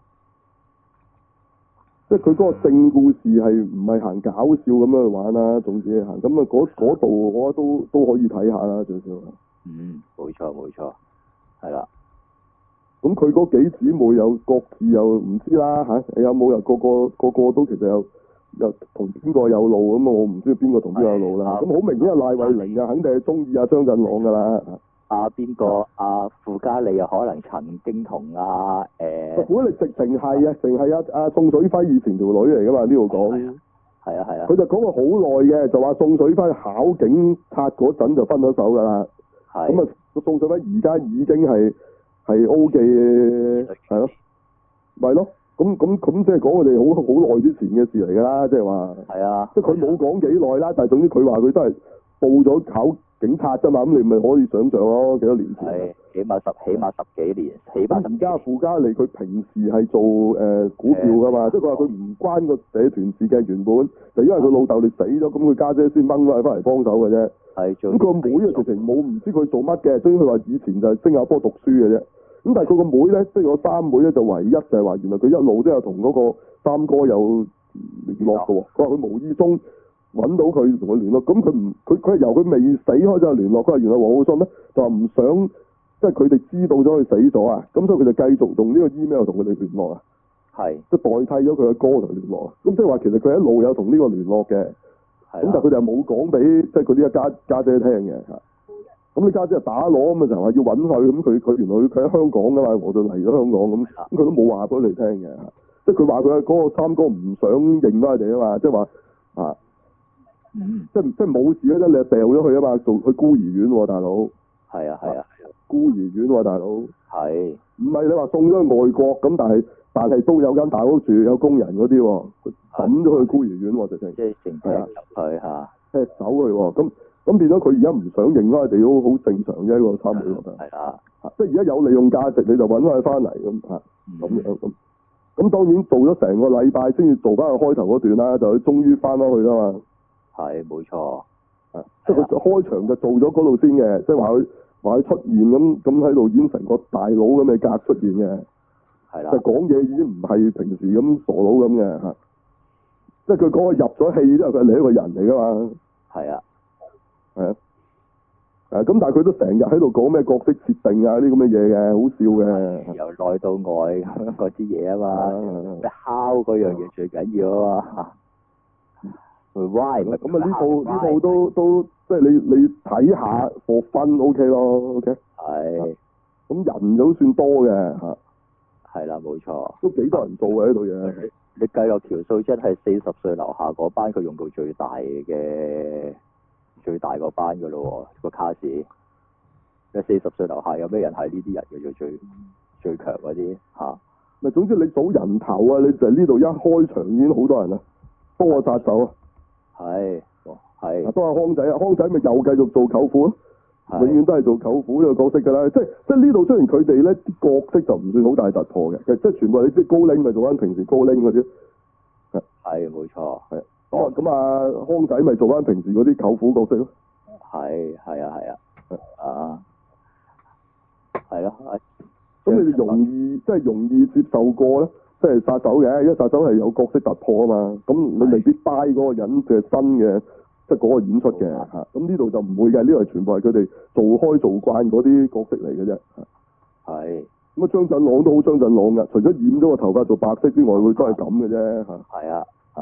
即係佢嗰個正故事係唔係行搞笑咁樣去玩啦，總之係行咁啊嗰度我覺得都可以睇下啦，最少。 冇錯，係啦。 咁佢嗰幾姊妹又各自又唔知啦嚇，有冇又個個都其實又同邊個有路咁啊？我唔知邊個同邊個有路啦。咁好明顯係賴慧玲啊，肯定係中意阿張振朗㗎啦。 邊個傅嘉莉又可能曾經同傅嘉莉直情係啊，淨係阿宋水輝以前條女嚟㗎嘛？呢度講係啊。 佢就講過好耐嘅，就話宋水輝考警察嗰陣就分咗手㗎啦。係。咁啊，宋水輝而家已經係 O 記係咯，咪咯。咁即係講我哋好耐之前嘅事嚟㗎啦，即係話。係啊。即係佢冇講幾耐啦，但係總之佢話佢都係報咗考警察啫嘛，咁你咪可以想象咯，幾多年前？係起碼十幾年，起碼。 而家傅嘉莉佢平時係做股票㗎嘛，即係佢話佢唔關個社團事嘅，原本就因為佢老豆你死咗，咁佢家姐先掹翻嚟幫手嘅啫。係咁佢個妹啊，直情冇唔知佢做乜嘅，所以佢話以前就係新加坡讀書嘅啫。咁但係佢個妹咧，即係我三妹咧，就唯一就係話原來佢一路都有同嗰個三哥有聯絡嘅喎。佢話佢無意中揾到佢同佢聯絡，咁佢係由佢未死開始有聯絡。佢話原來黃浩信咧就話唔想，即係佢哋知道咗佢死咗啊，咁所以佢就繼續用呢個 email 同佢哋聯絡啊。係。即係代替咗佢嘅哥同佢聯絡啊。咁即係話其實佢一路有同呢個聯絡嘅。係。咁但係佢哋係冇講俾即係佢呢一家姐聽嘅嚇。咁你家姐就打攞咁啊，就話要揾佢，咁佢原來佢喺香港㗎嘛，我就嚟咗香港咁佢都冇話俾你聽嘅嚇。即係佢話佢嗰個三哥唔想認翻佢哋啊嘛，即係話啊。即係冇事嗰陣，你就掉咗佢啊嘛，去孤兒院喎，大佬。係啊，孤兒院喎，大佬。係。唔係你話送咗去外國咁，但係都有間大屋住，有工人嗰啲喎，抌咗去孤兒院喎，直情。即係成踢入去嚇。踢走佢喎，咁變咗佢而家唔想認翻佢哋都好正常啫，個三妹覺得。係啊。即係而家有利用價值，你就揾翻佢翻嚟咁嚇，咁樣咁。咁當然做咗成個禮拜先至做翻佢開頭嗰段啦，就佢終於翻返去啦嘛。係冇錯，即係佢開場就做咗嗰度先嘅，即係話佢出現咁喺度演成個大佬咁嘅格出現嘅，係啦，就講嘢已經唔係平時咁傻佬咁嘅嚇，即係佢講佢入咗戲之後，佢係另一個人嚟噶嘛，係啊，咁但係佢都成日喺度講咩角色設定啊啲咁嘅嘢嘅，好笑嘅，由內到外嗰啲嘢啊嘛，敲嗰樣嘢最緊要啊嘛。Why 咁啊？呢套都即係你睇下for fun OK 咯 ，OK。係。咁人都算多嘅嚇。係啦，冇錯。都幾多人做嘅呢套嘢。你計落條數，真係40歲樓下嗰班，佢用到最大嗰班㗎咯喎，個卡士。你40歲樓下有咩人係呢啲人嘅最強嗰啲嚇？咪總之你數人頭啊！你就係呢度一開場已經好多人啦，多個殺手啊！係，都係康仔啊！康仔咪又繼續做舅父咯，永遠都係做舅父呢個角色㗎啦。即係呢度雖然佢哋咧啲角色就唔算好大突破嘅，其實即係全部你知高拎咪做翻平時高拎嗰啲，係冇錯，係。咁啊康仔咪做翻平時嗰啲舅父角色咯。係咯。咁你哋容易接受過咧？即係殺手嘅，因為殺手係有角色突破啊嘛，咁你未必 buy 嗰個人嘅新嘅，即係嗰個演出嘅嚇。咁呢度就唔會嘅，呢度係全部係佢哋做慣嗰啲角色嚟嘅啫。係。咁啊張振朗都好張振朗㗎，除咗染咗個頭髮做白色之外，佢都係咁嘅啫嚇。係啊。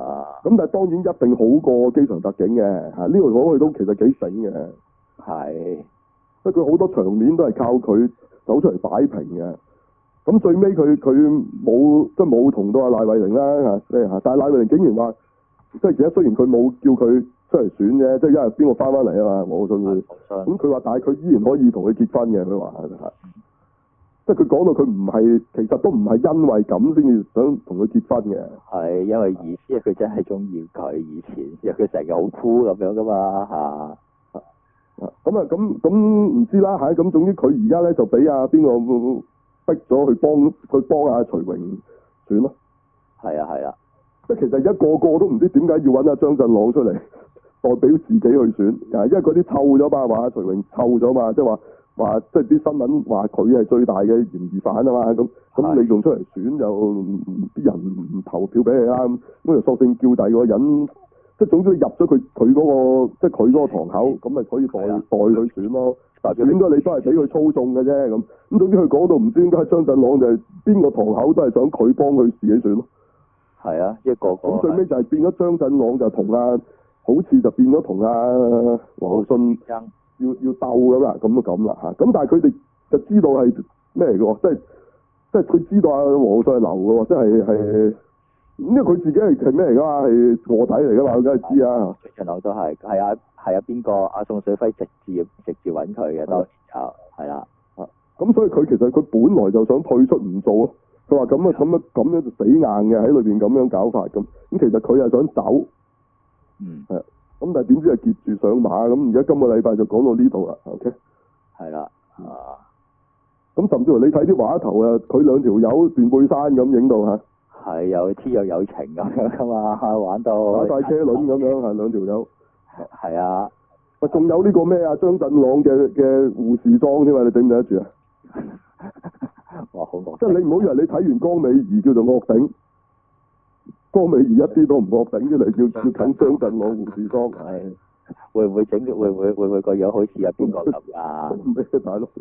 咁但係當然一定好過機場特警嘅嚇，呢度講佢都其實幾醒嘅。 係。 即係佢好多場面都係靠佢走出嚟擺平嘅。咁最尾佢冇同到阿賴慧玲啦嚇，但係賴慧玲竟然話，即係其實雖然佢冇叫佢出嚟選啫，即係因為邊個翻返嚟啊嘛，我信會。咁佢話，但係佢依然可以同佢結婚嘅，佢話係。即係佢講到佢唔係，其實都唔係因為咁先至想同佢結婚嘅。 係因為意思佢真係中意佢以前，因為佢成日好酷咁樣噶嘛嚇。 咁唔知啦嚇，咁總之佢而家咧就俾阿邊個逼咗去幫阿徐榮選咯。係啊。即係其實而家個個都唔知點解要揾阿張振朗出嚟代表自己去選，因為嗰啲臭咗嘛，話徐榮臭咗嘛，即係話即係啲新聞話佢係最大嘅嫌疑犯啊嘛，咁你仲出嚟選就啲人唔投票俾你啦，咁就索性叫第二個人。即係總之入咗佢嗰個，即係佢嗰個堂口，咁咪可以代佢選咯。但係選咗你都係俾佢操縱嘅啫，咁總之佢講到唔知點解張振朗就係邊個堂口都係想佢幫佢自己選咯。係啊，一個個。咁最尾就係變咗張振朗就同好似就變咗同王浩信要鬥咁啦，咁啦嚇。咁但係佢哋就知道係咩嚟嘅喎？即係佢知道王浩信係流嘅喎，即係。因為佢自己係咩嚟噶嘛？係臥底嚟噶嘛？佢梗係知啊！張振朗都係邊個？阿宋水輝直接揾佢嘅，當時就係啦。咁所以佢其實佢本來就想退出唔做咯。佢話咁樣就死硬嘅喺裏邊咁樣搞法咁。咁其實佢係想走。係。咁但係點知係劫住上馬咁？而家今個禮拜就講到呢度啦。OK。係啦。咁甚至乎你睇啲畫頭啊，佢兩條友斷背山咁影到嚇。係有天若有情咁樣噶嘛，玩到打晒車輪咁樣，係兩條友。係啊，喂，仲有呢個咩啊？張振朗嘅護士裝添嘛？你頂唔頂得住啊？哇，好惡！即係你唔好以為你睇完江美儀叫做惡頂，江美儀一啲都唔惡頂出嚟，叫緊張振朗護士裝。係會唔會個樣好似阿邊個咁啊？咩大佬？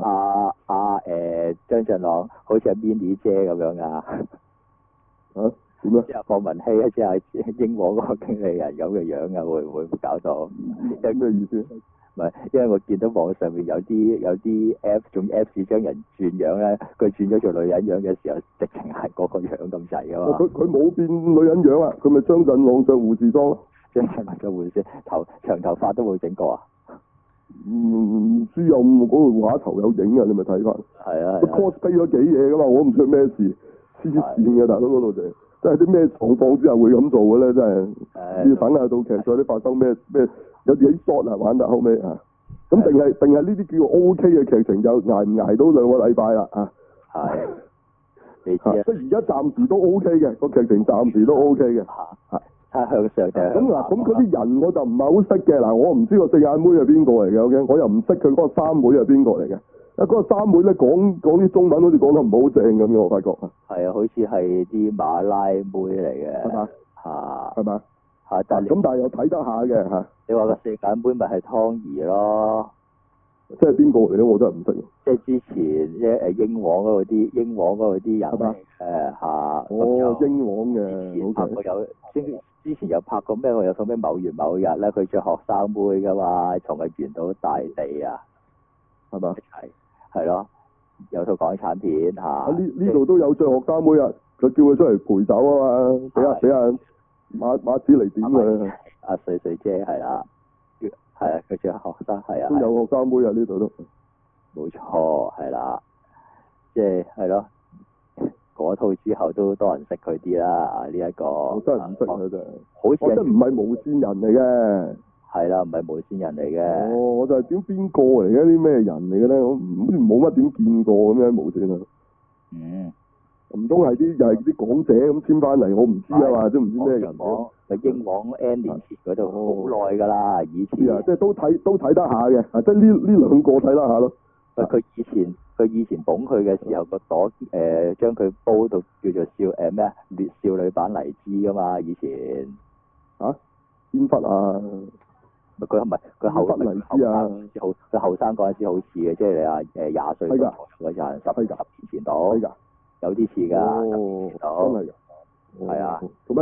張振朗好似阿 Minnie 姐咁樣啊？點啊？即係霍文希啊，即係英皇嗰個經理人咁嘅樣啊，會唔會搞到？有咩意思？唔係，因為我見到網上面有啲 app 用 Apps 將人轉樣咧，佢轉咗做女人樣嘅時候，直情係嗰個樣咁滯噶嘛。佢冇變女人樣啊，佢咪張振朗着護士裝咯。張振朗着護士長頭髮都冇整過啊？唔知有嗰個畫頭有影啊？你咪睇翻。係啊。cosplay 咗幾嘢噶嘛？我唔知咩事。黐線嘅大佬嗰度就，即係啲咩狀況之下會咁做嘅咧？真係要等下到劇再啲發生咩有啲 shot 啊玩得後尾啊，咁定係呢啲叫 OK 嘅劇情就捱唔捱到2個禮拜啦啊？係，你知啊？即係而家暫時都 OK 嘅個劇情，暫時都 OK 嘅嚇。向上嘅。咁嗱，咁嗰啲人我就唔係好識嘅嗱，我唔知個四眼妹係邊個嚟嘅，OK？我又唔識佢嗰個三妹係邊個嚟嘅。嗰個三妹咧講啲中文好似講得唔好正咁嘅，我發覺啊。係啊，好似係啲馬拉妹嚟嘅。係嘛？嚇。係嘛？嚇！但係又睇得下嘅嚇。你話個四眼妹咪係湯怡咯？即係邊個嚟咧？我真係唔識。即係之前英皇嗰度啲人。係嘛？嚇。哦，英皇嘅。拍過之前有拍過咩？我有套咩某月某日咧，佢着學生妹噶嘛，從佢原到大地啊。係嘛？係咯，有套港產片嚇。呢度都有着學生妹啊！佢叫佢出嚟陪酒啊嘛，俾阿馬子嚟點佢。阿穗姐係啦，係啊，佢着學生係啊。都有學生妹啊！呢度都。冇錯，係啦，即係咯，嗰套之後都多人識佢啲啦。呢一個。我真係唔識佢真係。好似。我真唔係無線人嚟嘅。係啦，唔係無線人嚟嘅。我就係點邊個嚟嘅？啲咩人嚟嘅咧？我好似冇乜點見過咁樣無線啊。唔通係啲又係啲港姐咁簽翻嚟？我唔知啊嘛，都唔知咩人。英皇 N 年前嗰度好耐㗎啦，以前。即係都睇得下嘅，即係呢兩個睇得下咯。佢以前捧佢嘅時候，個朵將佢煲到叫做劣少女版黎姿㗎嘛，以前。嚇？邊忽啊？佢唔係佢後生嗰陣時好似嘅，即係你話20歲嗰陣10年前到，有啲似㗎，真係㗎，係啊，做咩好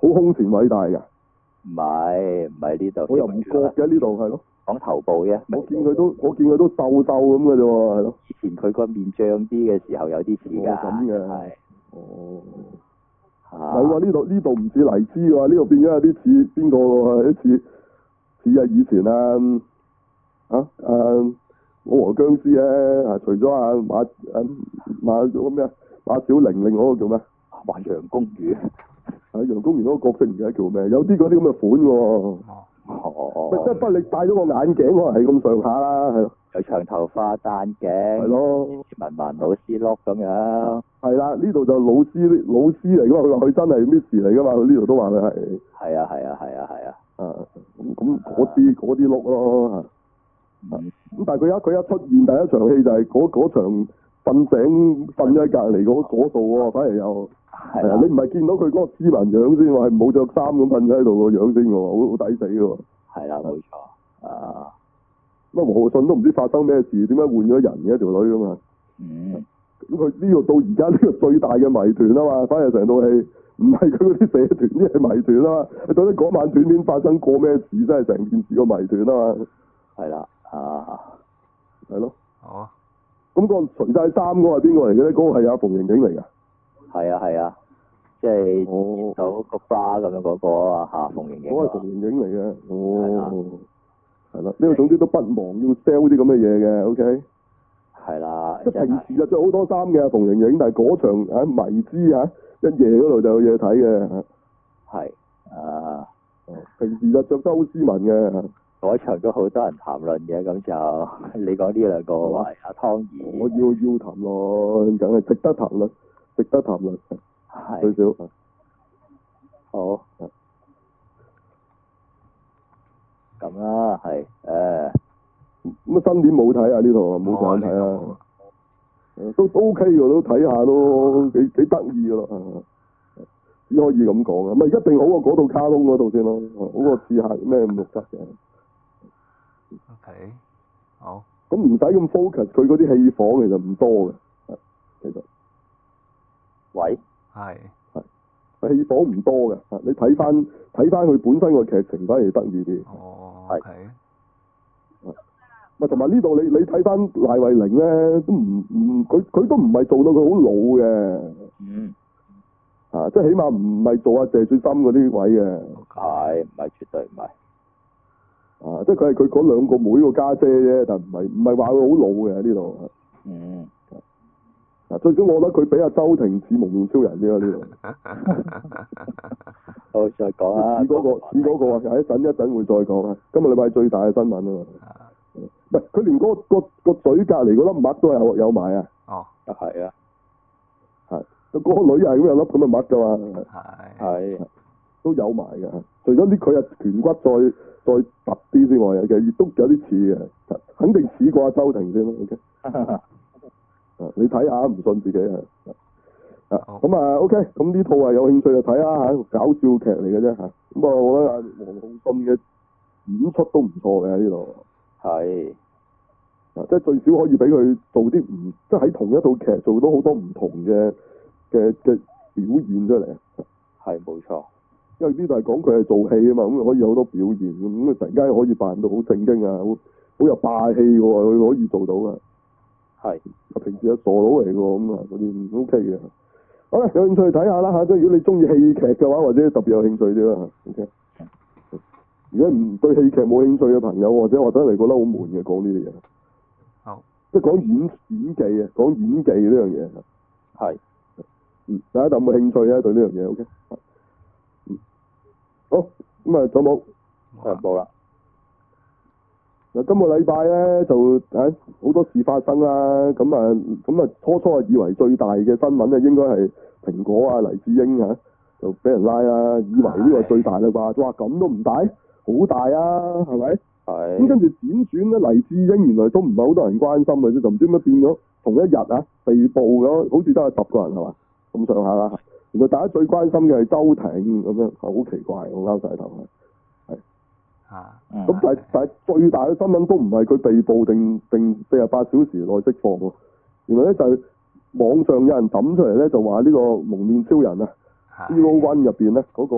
好空前偉大㗎？ 唔係呢度。 我又唔覺嘅呢度係咯。 講頭部啫。 我見佢都瘦瘦咁嘅啫喎，係咯。 以前佢個面脹啲嘅時候有啲似㗎。 咁嘅。 係。 哦。係喎，呢度唔似黎姿喎，呢度變咗有啲似邊個喎？有啲似以前我和僵屍咧，除咗馬嗰個咩馬小玲，另外嗰個叫咩？ 還楊公寓。 楊公寓嗰個角色唔記得叫咩？有啲嗰啲咁嘅款喎。即係不過你戴咗個眼鏡，可能係咁上下啦，係咯。 有長頭髮戴眼鏡。係咯。 文老師碌咁樣。係啦，呢度就老師嚟㗎嘛，佢話佢真係 Miss 嚟㗎嘛，佢呢度都話佢係。係啊。咁嗰啲碌咯。咁但係佢一出現第一場戲就係嗰場瞓醒瞓咗喺隔離嗰度喎，反而又係啊！你唔係見到佢嗰個斯文樣先喎，係冇着衫咁瞓咗喺度個樣先喎，好抵死喎。係啦，冇錯啊！咁和信都唔知發生咩事，點解換咗人嘅一條女㗎嘛？咁佢呢度到而家呢個最大嘅謎團啊嘛，反而成套戲唔係佢嗰啲社團，啲係謎團啊嘛。你到底嗰晚短片發生過咩事，真係成件事個謎團啊嘛。係啦。係咯。 好。咁個除晒衫嗰個係邊個嚟嘅咧？嗰個係阿馮盈盈嚟㗎。 係啊，即係見到個 bra 咁樣嗰個啊馮盈盈。嗰個係馮盈盈嚟嘅。係啦。呢個總之都不忘要 sell 啲咁嘅嘢嘅 ，OK。係啦。即係平時就着好多衫嘅馮盈盈，但係嗰場迷之一夜嗰度就有嘢睇嘅。係。平時就着得好斯文嘅。嗰場都好多人談論嘅，咁就你講呢兩個話阿湯怡，我要談論，梗係值得談論，係最少。好。咁啦，係咁新年冇睇啊？呢套冇上睇啊？都 OK 㗎，都睇下都幾得意㗎咯，只可以咁講啊！咪一定好過嗰套卡通嗰套先咯，好過刺客咩567嘅。 OK， 好。 咁唔使咁 focus，佢嗰啲戲房其實唔多嘅，其實。喂。係戲房唔多嘅，你睇翻佢本身個劇情反而得意啲。哦。OK。咪同埋呢度你睇翻賴慧玲咧，都佢都唔係做到佢好老嘅。即係起碼唔係做阿謝雪心嗰啲位嘅。係，唔係絕對唔係。即係佢係佢嗰兩個妹個家姐啫，但唔係話佢好老嘅呢度。最少我覺得佢比阿周庭似蒙面超人啫呢度。好，再講啊。似嗰個啊，一陣會再講啊。今日禮拜最大嘅新聞啊嘛。唔係，佢連個嘴隔離嗰粒墨都有埋啊。哦。係啊。係。嗰個女係咁有粒咁嘅墨㗎嘛。係。都有埋㗎。除咗佢啊顴骨再突啲之外，其實亦都有啲似嘅，肯定似過阿周庭先咯。OK，你睇下唔信自己咁啊 OK，咁呢套係有興趣就睇下嚇，搞笑劇嚟嘅啫嚇。咁啊，我覺得黃浩信嘅演出都唔錯嘅呢度。係。即係最少可以俾佢做啲即係喺同一套劇做到好多唔同嘅表現出嚟。係冇錯。因為呢度係講佢係做戲啊嘛，咁可以有好多表現咁突然間可以扮到好正經啊，好有霸氣嘅喎，佢可以做到嘅。係。平時係傻佬嚟嘅喎，咁啊嗰啲 OK 嘅。好啦，有興趣睇下啦嚇，即係如果你中意戲劇嘅話，或者特別有興趣啲啦嚇。OK。如果唔對戲劇冇興趣嘅朋友，或者嚟覺得好悶嘅，講呢啲嘢。好。即係講演技啊，講演技呢樣嘢。係。大家有冇興趣啊？對呢樣嘢 OK。好，咁啊，仲有冇？冇啦。嗱，今個禮拜咧就好多事發生啦，咁啊初以為最大嘅新聞咧應該係蘋果啊黎智英就俾人拉啦，以為呢個最大啦啩，哇咁都唔大，好大啊，係咪？係。咁跟住輾轉咧，黎智英原來都唔係好多人關心嘅啫，就唔知點解變咗同一日被捕咗，好似都係10個人係嘛，咁上下啦。原來大家最關心嘅係周庭咁樣，好奇怪，我拗晒頭係。咁但係最大嘅新聞都唔係佢被捕定48小時內釋放喎。原來咧就係網上有人抌出嚟咧，就話呢個蒙面超人啊，Zero One 入邊咧嗰個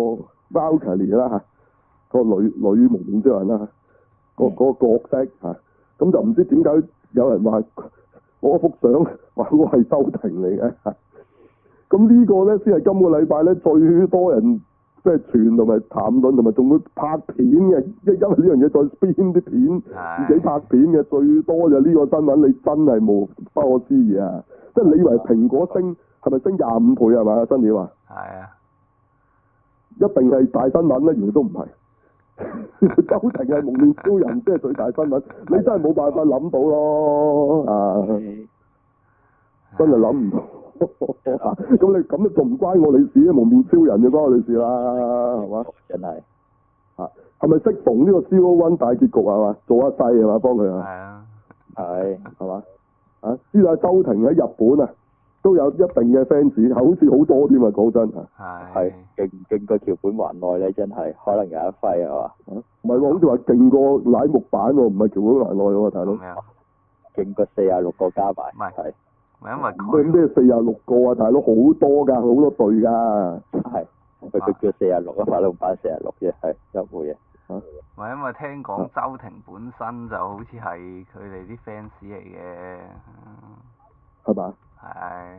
Valkyrie 啦嚇，個女幪面超人啦嚇，個角色嚇，咁就唔知點解有人話我幅相話嗰個係周庭嚟嘅嚇，咁呢個咧先係今個禮拜咧最多人即係傳同埋談論同埋仲會拍片嘅，因為呢樣嘢再編啲片自己拍片嘅最多就呢個新聞，你真係無不可思議啊！即係你以為蘋果升係咪升25倍係嘛？新料啊？ 係啊， 一定係大新聞咧，原來都唔係。周庭係幪面超人，即係最大新聞，你真係冇辦法諗到咯啊！真係諗唔到。咁你咁都仲唔關我哋事啊？幪面超人就關我哋事啦，係嘛？ 真係啊，係咪適逢呢個 Zero One 大結局係嘛？做一世係嘛？幫佢啊？ 係啊， 係嘛？啊，知道周庭喺日本啊，都有一定嘅 fans，好似好多添啊！講真係勁過橋本環奈咧，真係可能有一揮係嘛？ 唔係喎，好似話勁過乃木坂喎，唔係橋本環奈喎，大佬。 勁過46個加埋。 唔係，因為佢咩46個啊，大佬好多㗎，好多隊㗎。 係，佢叫46啊，法老版46啫，係有冇嘢？ 唔係因為聽講周庭本身就好似係佢哋啲 fans 嚟嘅， 係嘛？ 係。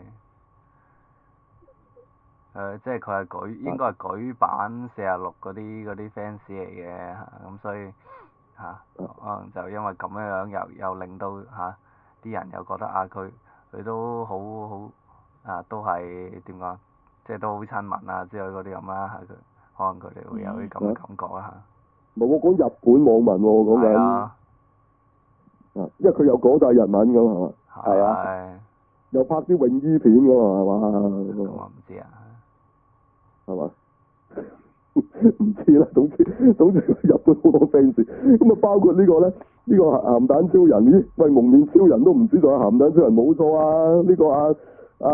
即係佢係應該係舉版46嗰啲 fans 嚟嘅，咁所以可能就因為咁樣又令到啲人又覺得佢都好都係點講，即係都好親民啊之類嗰啲咁啦，可能佢哋會有啲咁嘅感覺啦嚇。 唔係我講日本網民喎，我講緊。啊。因為佢又講晒日文㗎嘛，係嘛？ 係啊。 又拍啲泳衣片㗎嘛，係嘛？ 咁我唔知啊。 係嘛？唔知啦，總之日本好多 fans，咁啊包括呢個咧，呢個鹹蛋超人，咦？喂，幪面超人都唔知仲有鹹蛋超人，冇錯啊！呢個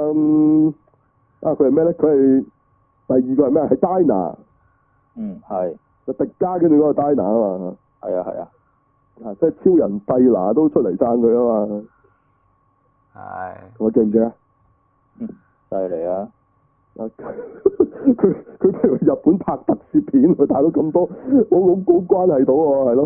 佢係咩咧？佢係第二個係咩？係 Dyna。 係。 就迪迦跟住嗰個 Dyna 啊嘛。 係啊。 即係超人蒂拿都出嚟讚佢啊嘛。 係。 我記唔記啊？ 犀利啊！ 佢譬如日本拍特攝片，佢睇到咁多，我冇關係到喎，係咯。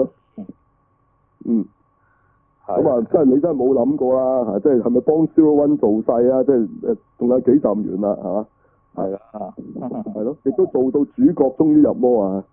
咁啊，真係你真係冇諗過啦，即係咪幫 Zero One 做勢啊？即係仲有幾集完啦，係嘛？ 係啦。 係咯，亦都做到主角終於入魔啊！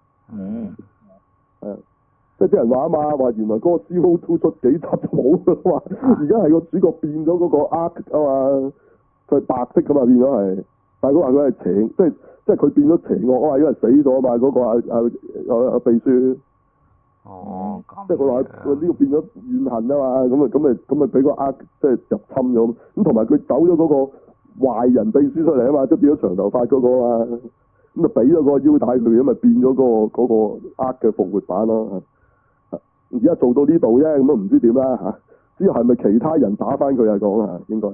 係啊，即係啲人話啊嘛，話原來嗰個 Zero Two 出幾集就冇㗎嘛，而家係個主角變咗嗰個 Arc 啊嘛。佢係白色噶嘛，變咗係，但係佢話佢係邪，即係佢變咗邪惡啊嘛，因為死咗啊嘛，嗰個秘書。 哦。 即係佢話呢個變咗怨恨啊嘛，咁咪俾個即係入侵咗，咁同埋佢走咗嗰個壞人秘書出嚟啊嘛，即係變咗長頭髮嗰個啊嘛，咁就俾咗個腰帶佢，咁咪變咗嗰個嘅復活版咯。而家做到呢度啫，咁都唔知點啦嚇。之後係咪其他人打翻佢啊？講啊，應該係。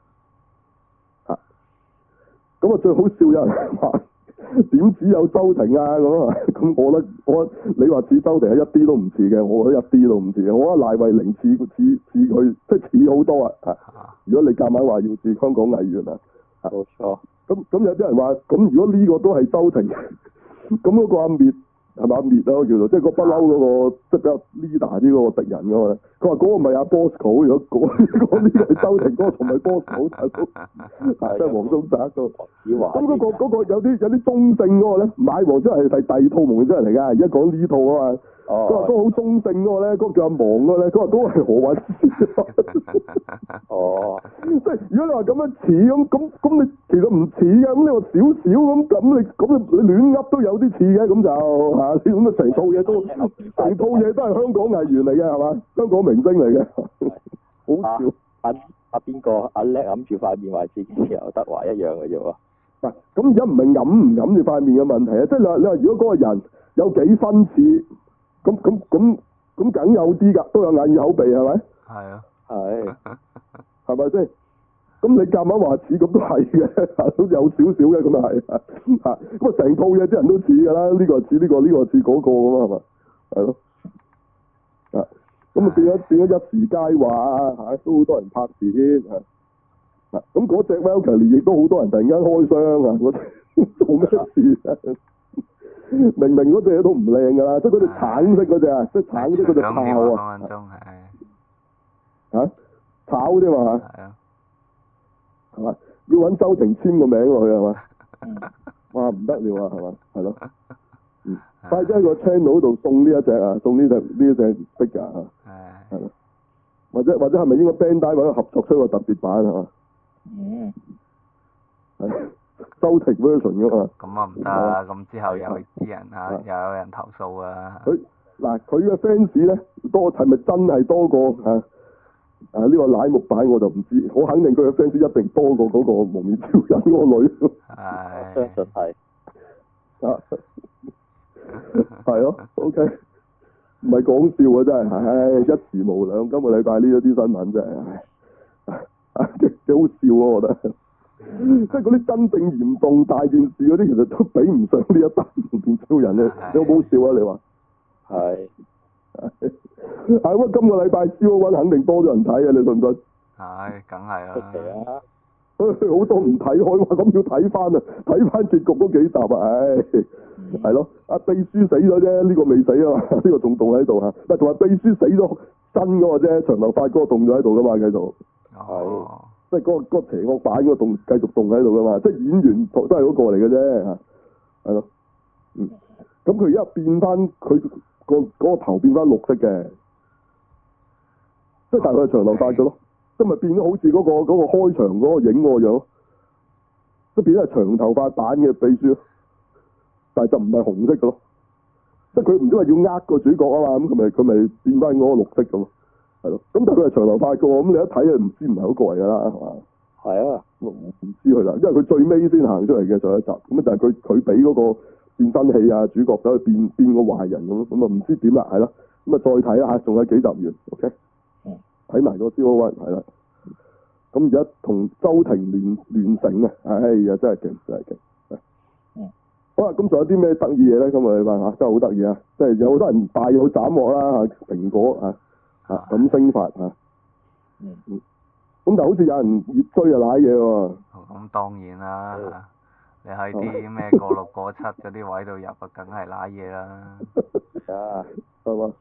咁啊，最好笑有人話點只有周庭啊咁啊，咁我你話似周庭係一啲都唔似嘅，我覺得一啲都唔似嘅，我覺得賴慧玲似佢，即係似好多啊！如果你夾硬話要似香港藝員啊， 冇錯。 咁有啲人話，咁如果呢個都係周庭，咁嗰個阿滅係咪阿滅啊？叫做即係個不嬲嗰個，即係比較 leader 啲嗰個敵人㗎嘛。佢話嗰個唔係阿 Bosco，如果講呢個係周庭，嗰個同埋 Bosco 大佬，即係黃宗澤個。咁嗰個有啲中性嗰個咧，買黃真係第二套蒙真人嚟㗎。而家講呢套啊嘛。佢話嗰個好中性嗰個咧，嗰個叫阿芒嗰個咧，佢話嗰個係何韻詩。即係如果你話咁樣似咁你其實唔似嘅，咁你話少少咁你亂噏都有啲似嘅，咁就嚇，咁啊成套嘢都係香港藝員嚟嘅係嘛？香港明星嚟嘅，好笑。 阿邊個阿叻揞住塊面話自己劉德華一樣嘅啫喎。 嗱，咁而家唔係揞住塊面嘅問題啊，即係你話如果嗰個人有幾分似，咁梗有啲㗎，都有眼耳口鼻係咪？ 係啊。 係咪先？咁你夾硬話似咁都係嘅，都有少少嘅咁啊係咁啊成套嘢啲人都似㗎啦，呢個似呢個，呢個似嗰個咁啊係嘛？係咯。咁啊變咗一時佳話都好多人拍片咁嗰隻 Valkyrie 亦都好多人突然間開箱啊！ 做咩事啊？明明嗰隻嘢都唔靚㗎啦，即係嗰隻橙色嗰隻啊，即係橙色嗰隻炮啊。 分鐘嚇？炒啫嘛嚇。 係啊。 係嘛？要揾周庭簽個名落去係嘛？哇唔得了啊係嘛？係咯。快啲喺個 channel 度送呢一隻啊，送呢隻 figure 啊。係咯。或者係咪應該 Bandai 揾個合作出個特別版係嘛？係。周庭 version 㗎嘛。 咁啊唔得啊！咁之後有啲人又有人投訴啊。 佢嘅 fans 咧多係咪真係多過呢個乃木版我就唔知，我肯定佢嘅 fans 一定多過嗰個蒙面超人嗰個女。 係。相信係。 係咯 ，OK，唔係講笑啊，真係，唉，一時無兩。今個禮拜呢一啲新聞真係，幾好笑啊！我覺得，即係嗰啲真正嚴重大件事嗰啲，其實都比唔上呢一單蒙面超人咧。你好唔好笑啊？你話？係。係咁今個禮拜 Zero-One 肯定多咗人睇啊！你信唔信？係， 梗係啦。 好多唔睇開話，咁要睇翻啊！睇翻結局嗰幾集啊！唉，係咯，阿秘書死咗啫，呢個未死啊嘛，呢個仲凍喺度嚇。但同埋秘書死咗真嗰個啫，長頭髮嗰個凍咗喺度噶嘛，繼續。係。即係嗰個邪惡版嗰個繼續凍喺度噶嘛，即係演員都係嗰個嚟嘅啫嚇。係咯。咁佢而家變翻佢嗰個頭變翻綠色嘅，即係但係佢係長頭髮嘅咯。即咪變咗好似嗰個開場嗰個影個樣，即變咗係長頭髮版嘅秘書，但係就唔係紅色嘅咯。即係佢唔知話要呃個主角啊嘛，咁佢咪變翻嗰個綠色咁咯，係咯。咁但係佢係長頭髮嘅喎，咁你一睇就唔知唔係嗰個嚟㗎啦，係嘛？係啊，唔知佢啦，因為佢最尾先行出嚟嘅上一集，咁就係佢俾嗰個變身器啊，主角走去變個壞人咁，咁啊唔知點啦，係咯。咁啊再睇下，仲有幾集完 ，OK。睇埋個 Zero-One 係啦，咁而家同周庭聯成啊！哎呀，真係勁，真係勁。好啦，咁仲有啲咩得意嘢咧？今個禮拜嚇真係好得意啊！即係有好多人大有斬獲啦嚇，蘋果咁升發嚇。咁就好似有人熱追啊賴嘢喎。 咁當然啦，你喺啲咩過六過七嗰啲位度入啊，梗係賴嘢啦。 啊， 係嘛？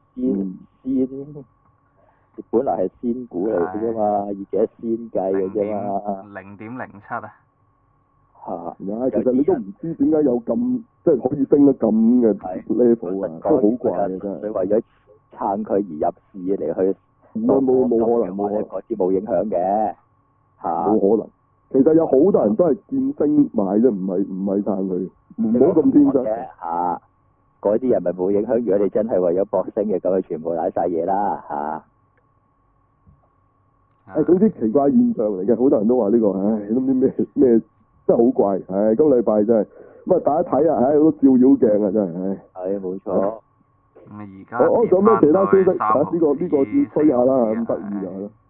本來係仙股嚟嘅啫嘛，以幾多仙計嘅啫嘛。 0.07啊！ 其實你都唔知點解有咁即係可以升得咁嘅 level 啊，都好怪嘅真係。 你為咗撐佢而入市嚟去， 冇可能， 嗰啲冇影響嘅冇可能。其實有好多人都係見升買啫，唔係撐佢，唔好咁天真。 嗰啲人咪冇影響。如果你真係為咗博升嘅，咁佢全部瀨晒嘢啦總之奇怪現象嚟嘅，好多人都話呢個，都唔知咩，真係好怪，今個禮拜真係，咁啊大家睇啊，好多照妖鏡啊，真係， 係冇錯。 咁而家我仲有咩其他消息？呢個要吹下啦，咁得意就係咯，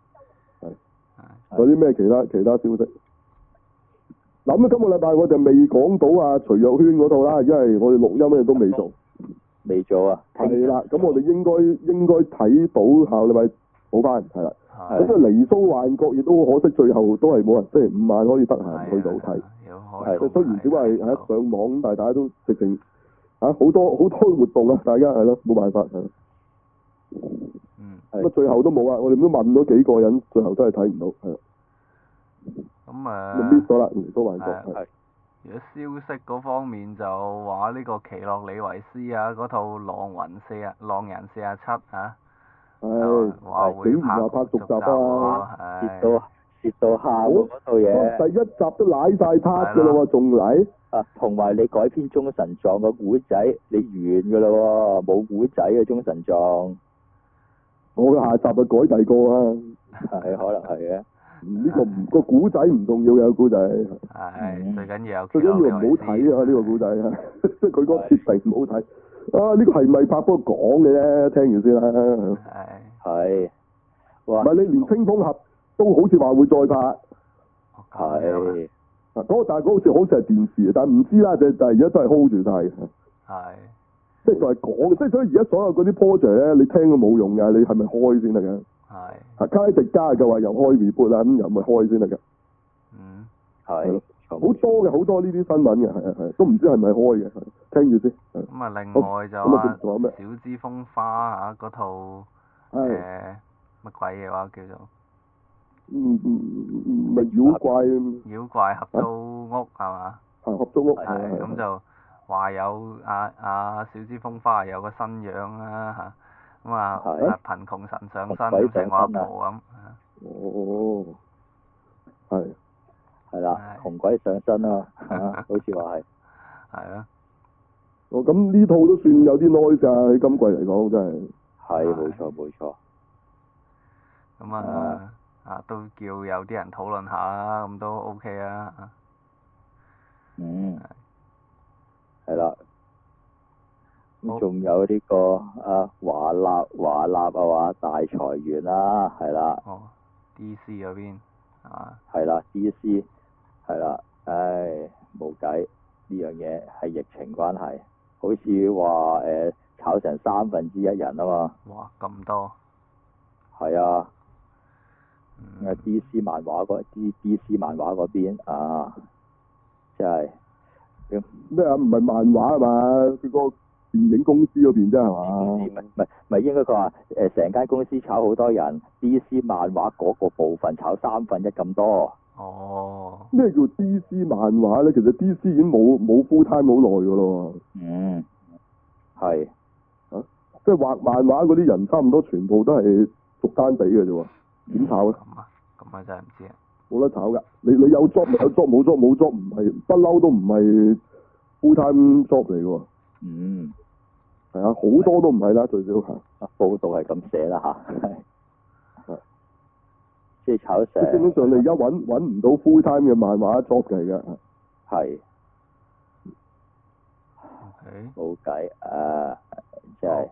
有啲咩其他消息？嗱咁今個禮拜我就未講到徐若瑄嗰套啦，因為我哋錄音咧都未做， 未做啊。 係啦，咁我哋應該睇到下個禮拜補翻，係啦。咁啊，離騷幻覺亦都可惜，最後都係冇人，星期5晚可以得閒去到睇。係，雖然只不過係上網，但係大家都直情好多活動啊！大家係咯，冇辦法係。咁最後都冇啊！我哋都問咗幾個人，最後都係睇唔到，係。 咁 miss 咗啦，離騷幻覺係。 如果消息嗰方面就話呢個奇洛李維斯嗰套狼人47 竟然話拍續集啊！ 蝕到喊嗰套嘢。 第一集都瀨晒撻㗎啦喎，仲嚟？ 同埋你改編中神狀個古仔，你完㗎啦喎，冇古仔嘅中神狀。 我嘅下集就改第二個啊。 係，可能係嘅。 呢個古仔唔重要嘅古仔。 係，最緊要最緊要唔好睇啊！呢個古仔即係佢嗰個設定唔好睇。呢個係咪拍波講嘅啫？聽完先啦。 係。 唔係你連青蜂俠都好似話會再拍。 係。 但係嗰個好似係電視，但係唔知啦，就係而家都係 hold 住晒。 係。 即係就係講，即係所以而家所有嗰啲 project 咧，你聽都冇用㗎，你係咪開先得㗎？係。卡迪加就話又開 reboot 啦，咁又咪開先得㗎。 係。 錯。 好多呢啲新聞嘅，係，都唔知係咪開嘅，聽住先。 咁啊，另外就仲有咩？ 小芝風花嗰套乜鬼嘢話叫做？ 咪妖怪合租屋係嘛？ 係合租屋。 係咁就話有小芝風花有個新樣啦嚇，咁啊貧窮神上身咁成個阿婆咁。 哦。係。 係啦，紅鬼上身啊！好似話係。 係啊。 咁呢套都算有啲 noise 㗎，喺今季嚟講真係。 係，冇錯。 咁都叫有啲人討論下啦，咁都 OK 啊。 係啦。咁仲有呢個華納啊話大裁員啦，係啦。 DC 嗰邊係啦 ，DC 係啦，唉，冇計，呢樣嘢係疫情關係，好似話炒成1/3人啊嘛。 哇！咁多。 係啊。DC 漫畫嗰邊即係咩啊？唔係漫畫係嘛？佢個電影公司嗰邊啫係嘛？ 唔係應該佢話成間公司炒好多人 ，DC 漫畫嗰個部分炒1/3咁多。 哦。咩叫 DC 漫畫咧？其實 DC 已經冇 full time 好耐㗎咯。 係。 即係畫漫畫嗰啲人，差唔多全部都係逐單俾嘅啫喎。點炒咧？ 咁真係唔知啊！ 冇得炒㗎，你有 job 咪有 job，冇 job 冇 job，唔係不嬲都唔係 full time job 嚟嘅喎。係啊，好多都唔係啦，最少係。 報道係咁寫啦嚇。係。即係炒成。 基本上你而家揾唔到 full time 嘅漫畫 job 嚟嘅。 係。冇計即係。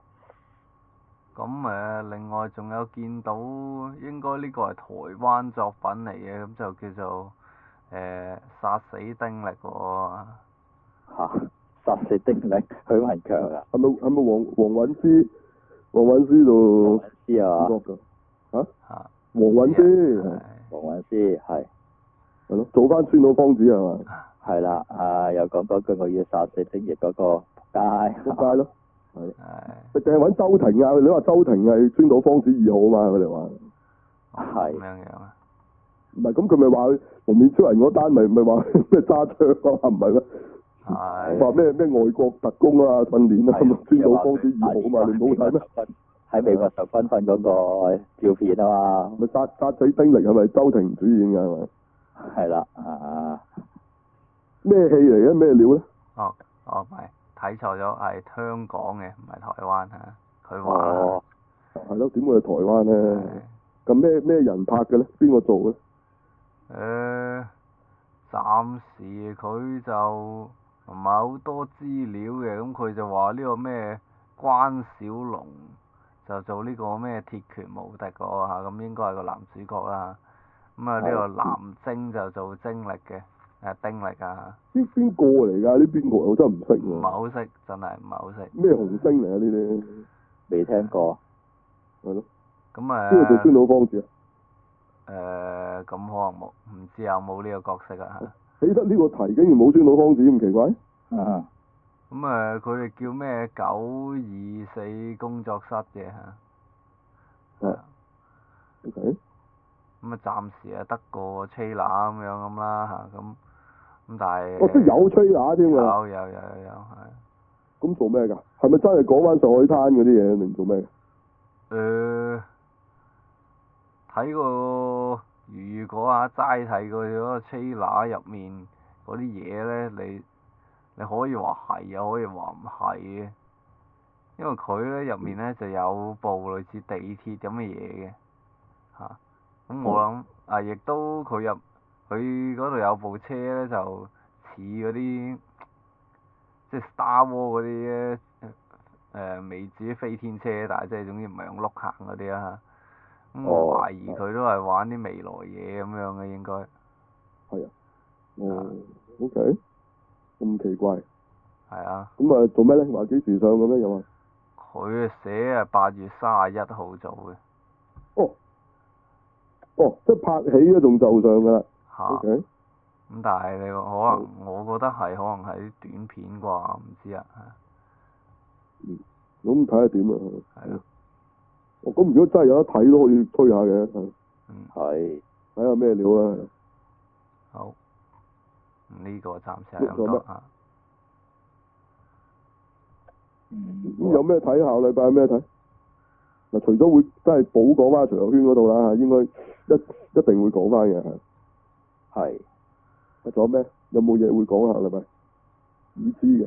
咁另外仲有見到，應該呢個係台灣作品嚟嘅，咁就叫做殺死丁力喎。 殺死丁力，許文強啊？ 係咪黃韻詩？黃韻詩度。 黃韻詩啊？ 黃韻詩。 黃韻詩係。 係咯，做翻川島芳子係嘛？ 係啦，又講嗰句我要殺死丁力嗰個仆街咯。係，淨係揾周庭啊！你話周庭係川島芳子2號啊嘛？佢哋話係咁樣啊？ 唔係，咁佢咪話蒙面超人嗰單咪話咩揸槍啊？唔係咩？係話咩外國特工啊訓練啊？川島芳子2號啊嘛？你冇睇咩？ 喺美國受軍訓嗰個照片啊嘛？ 咪殺死丁力係咪周庭主演㗎係咪？ 係啦， 咩戲嚟嘅？咩料咧？ 唔係。睇錯咗，係香港嘅，唔係台灣嚇。佢話係咯，點會係台灣咧？咁咩人拍嘅咧？邊個做嘅？ 暫時佢就唔係好多資料嘅，咁佢就話呢個咩關小龍就做呢個咩鐵拳無敵個嚇，咁應該係個男主角啦。咁呢個藍晶就做精力嘅。丁力啊！邊個嚟㗎？呢邊個我真係唔識喎。 唔係好識，真係唔係好識。 咩紅星嚟啊？呢啲未聽過。 係咯。 咁邊個做川島芳子啊？咁可能冇，唔知有冇呢個角色啊？ 起得呢個題竟然冇川島芳子咁奇怪？ 咁佢哋叫咩924工作室嘅嚇。 OK。 咁暫時得個 trailer 咁啦嚇，咁但係。 即係有 trailer 添㗎。 有係。 咁做咩㗎？係咪真係講翻上海灘嗰啲嘢定做咩？ 睇個如果齋睇佢嗰個 trailer 入面嗰啲嘢咧，你可以話係又可以話唔係嘅，因為佢咧入面咧就有部類似地鐵咁嘅嘢嘅嚇。咁我諗亦都佢嗰度有部車咧，就似嗰啲即係 Star Wars 嗰啲未至於飛天車，但係即係總之唔係用轆行嗰啲啦。咁我懷疑佢都係玩啲未來嘢咁樣嘅應該。 係啊。OK。咁奇怪。 係啊。 咁做咩咧？話幾時上嘅咩又話？ 佢寫8月31號做嘅。 即係拍起嗰仲就上㗎啦。 嚇。 OK。 咁但係你可能我覺得係可能係短片啩，唔知啊。 咁睇下點啊。 係咯。 咁如果真係有得睇都可以推下嘅。 係。 睇下咩料啊。 好。呢個暫時係咁多啊。 咁有咩睇？下個禮拜有咩睇？嗱，除咗會真係補講翻徐樂圈嗰度啦，應該一定會講翻嘅。 係。 仲有咩？有冇嘢會講下禮拜？已知嘅。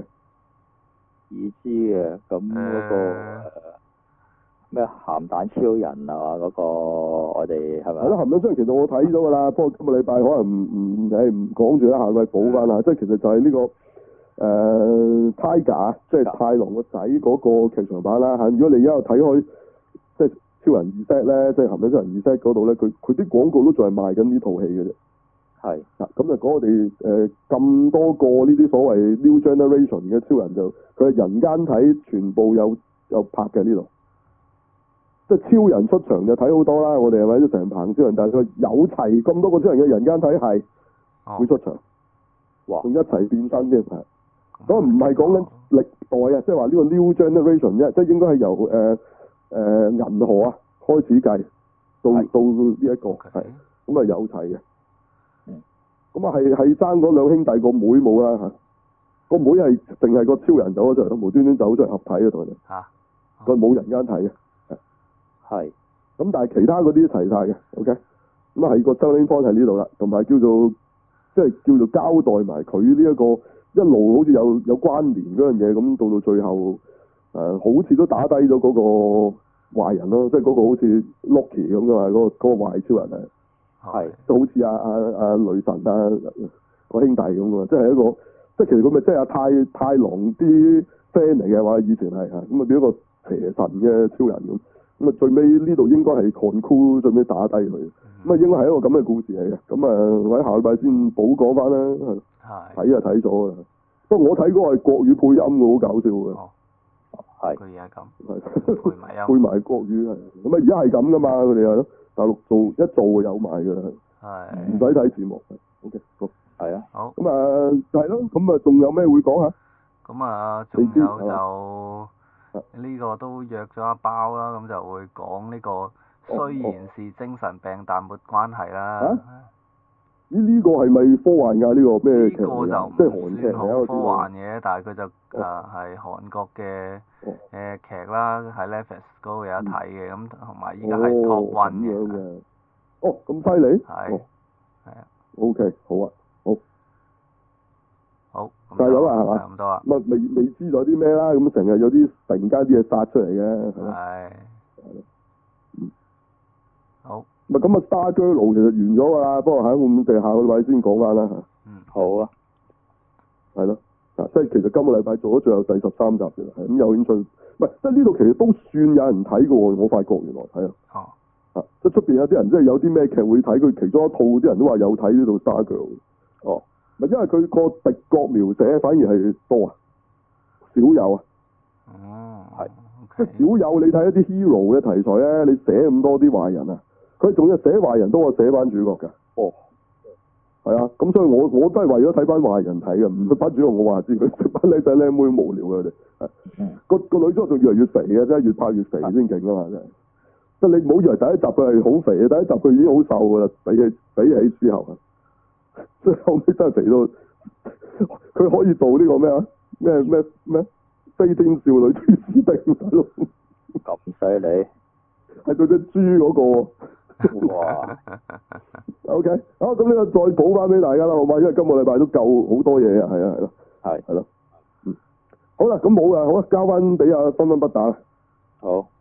咁嗰個咩鹹蛋超人啊嗰個我哋係咪？ 係咯，鹹蛋超人其實我睇咗㗎啦，不過今個禮拜可能唔講住啦，下個禮拜補翻啦。即係其實就係呢個。Tiger 即係太郎個仔嗰個劇場版啦嚇。如果你而家有睇開，即係超人2 set 咧，即係鹹蛋超人2 set 嗰度咧，佢啲廣告都仲係賣緊呢套戲嘅啫。 係。 咁就講我哋咁多個呢啲所謂 New Generation 嘅超人就佢係人間體全部有拍嘅呢度。即係超人出場就睇好多啦，我哋係咪都成棚超人？但係佢有齊咁多個超人嘅人間體係會出場， 哇！ 仲一齊變身添係。咁唔係講緊歷代啊，即係話呢個 New Generation 啫，即係應該係由銀河啊開始計到呢一個係，咁啊有齊嘅。咁啊係爭嗰兩兄弟個妹冇啦嚇，個妹係淨係個超人走咗出嚟，無端端走出嚟合體嘅同佢哋。佢冇人間體嘅。 係。 咁但係其他嗰啲齊晒嘅 ，OK。咁啊係個 selling point 喺呢度啦，同埋叫做交代埋佢呢一個。一路好似有關聯嗰樣嘢，咁到最後好似都打低咗嗰個壞人咯，即係嗰個好似 Loki 咁嘅嘛，嗰個壞超人啊， 係就好似阿雷神個兄弟咁嘅嘛，即係一個即係其實佢咪即係阿太郎啲 friend 嚟嘅話，以前係嚇，咁啊變咗個邪神嘅超人咁啊最尾呢度應該係 conclude 最尾打低佢，咁啊應該係一個咁嘅故事嚟嘅，咁啊我喺下禮拜先補講翻啦。睇就睇咗啦，不過我睇嗰個係國語配音嘅，好搞笑嘅。 係。 佢而家咁。配埋音。 配埋國語係，咁啊而家係咁噶嘛，佢哋係咯，大陸一做就有埋㗎啦。 係。 唔使睇字幕。OK， 好。 係啊。 好。 咁啊係咯，咁啊仲有咩會講下？ 咁啊，仲有就呢個都約咗一包啦，咁就會講呢個雖然是精神病但沒關係啦。 呢個係咪科幻㗎？呢個咩劇嚟㗎？即係韓劇好科幻嘅，但係佢就係韓國嘅劇啦，喺 Netflix 嗰度有得睇嘅，咁同埋依家係 Top One 嘅。 哦，咁犀利？ 係。係啊。 OK，好啊，好。 好。 就係咁啊，係嘛？ 咁多啦。 未知咗啲咩啦？咁成日有啲突然間啲嘢殺出嚟嘅。 係。好。 咁啊，Star Girl 其實完咗㗎啦，不過我哋下個禮拜先講翻啦嚇。 好啊。 係咯，即係其實今個禮拜做咗最後第13集嘅啦，係咁有興趣，唔係即係呢度其實都算有人睇嘅喎，我發覺原來係啊。即係出邊有啲人即係有啲咩劇會睇，佢其中一套啲人都話有睇呢度 Star Girl。 哦。 咪因為佢個敵國描寫反而係多啊，少有啊。 係。 即係少有，你睇一啲 hero 嘅題材咧，你寫咁多啲壞人啊。佢仲要寫壞人多過寫翻主角㗎。 哦， 係啊，咁所以我都係為咗睇翻壞人睇嘅，唔班主角我話知佢班靚仔靚妹無聊嘅佢哋。個女主角仲越嚟越肥嘅，真係越拍越肥先勁啊嘛，真係。即係你唔好以為第一集佢係好肥啊，第一集佢已經好瘦㗎啦，比起之後啊，即係後尾真係肥到佢可以做呢個咩啊？咩飛天少女朱斯汀大佬。 咁犀利。 係佢隻豬嗰個。 哇 ！OK， 好，咁呢個再補翻俾大家啦，好嘛？因為今個禮拜都夠好多嘢啊，係啊，係咯，係咯，好啦，咁冇啦，好啦，交翻俾阿分分不打啦。 好。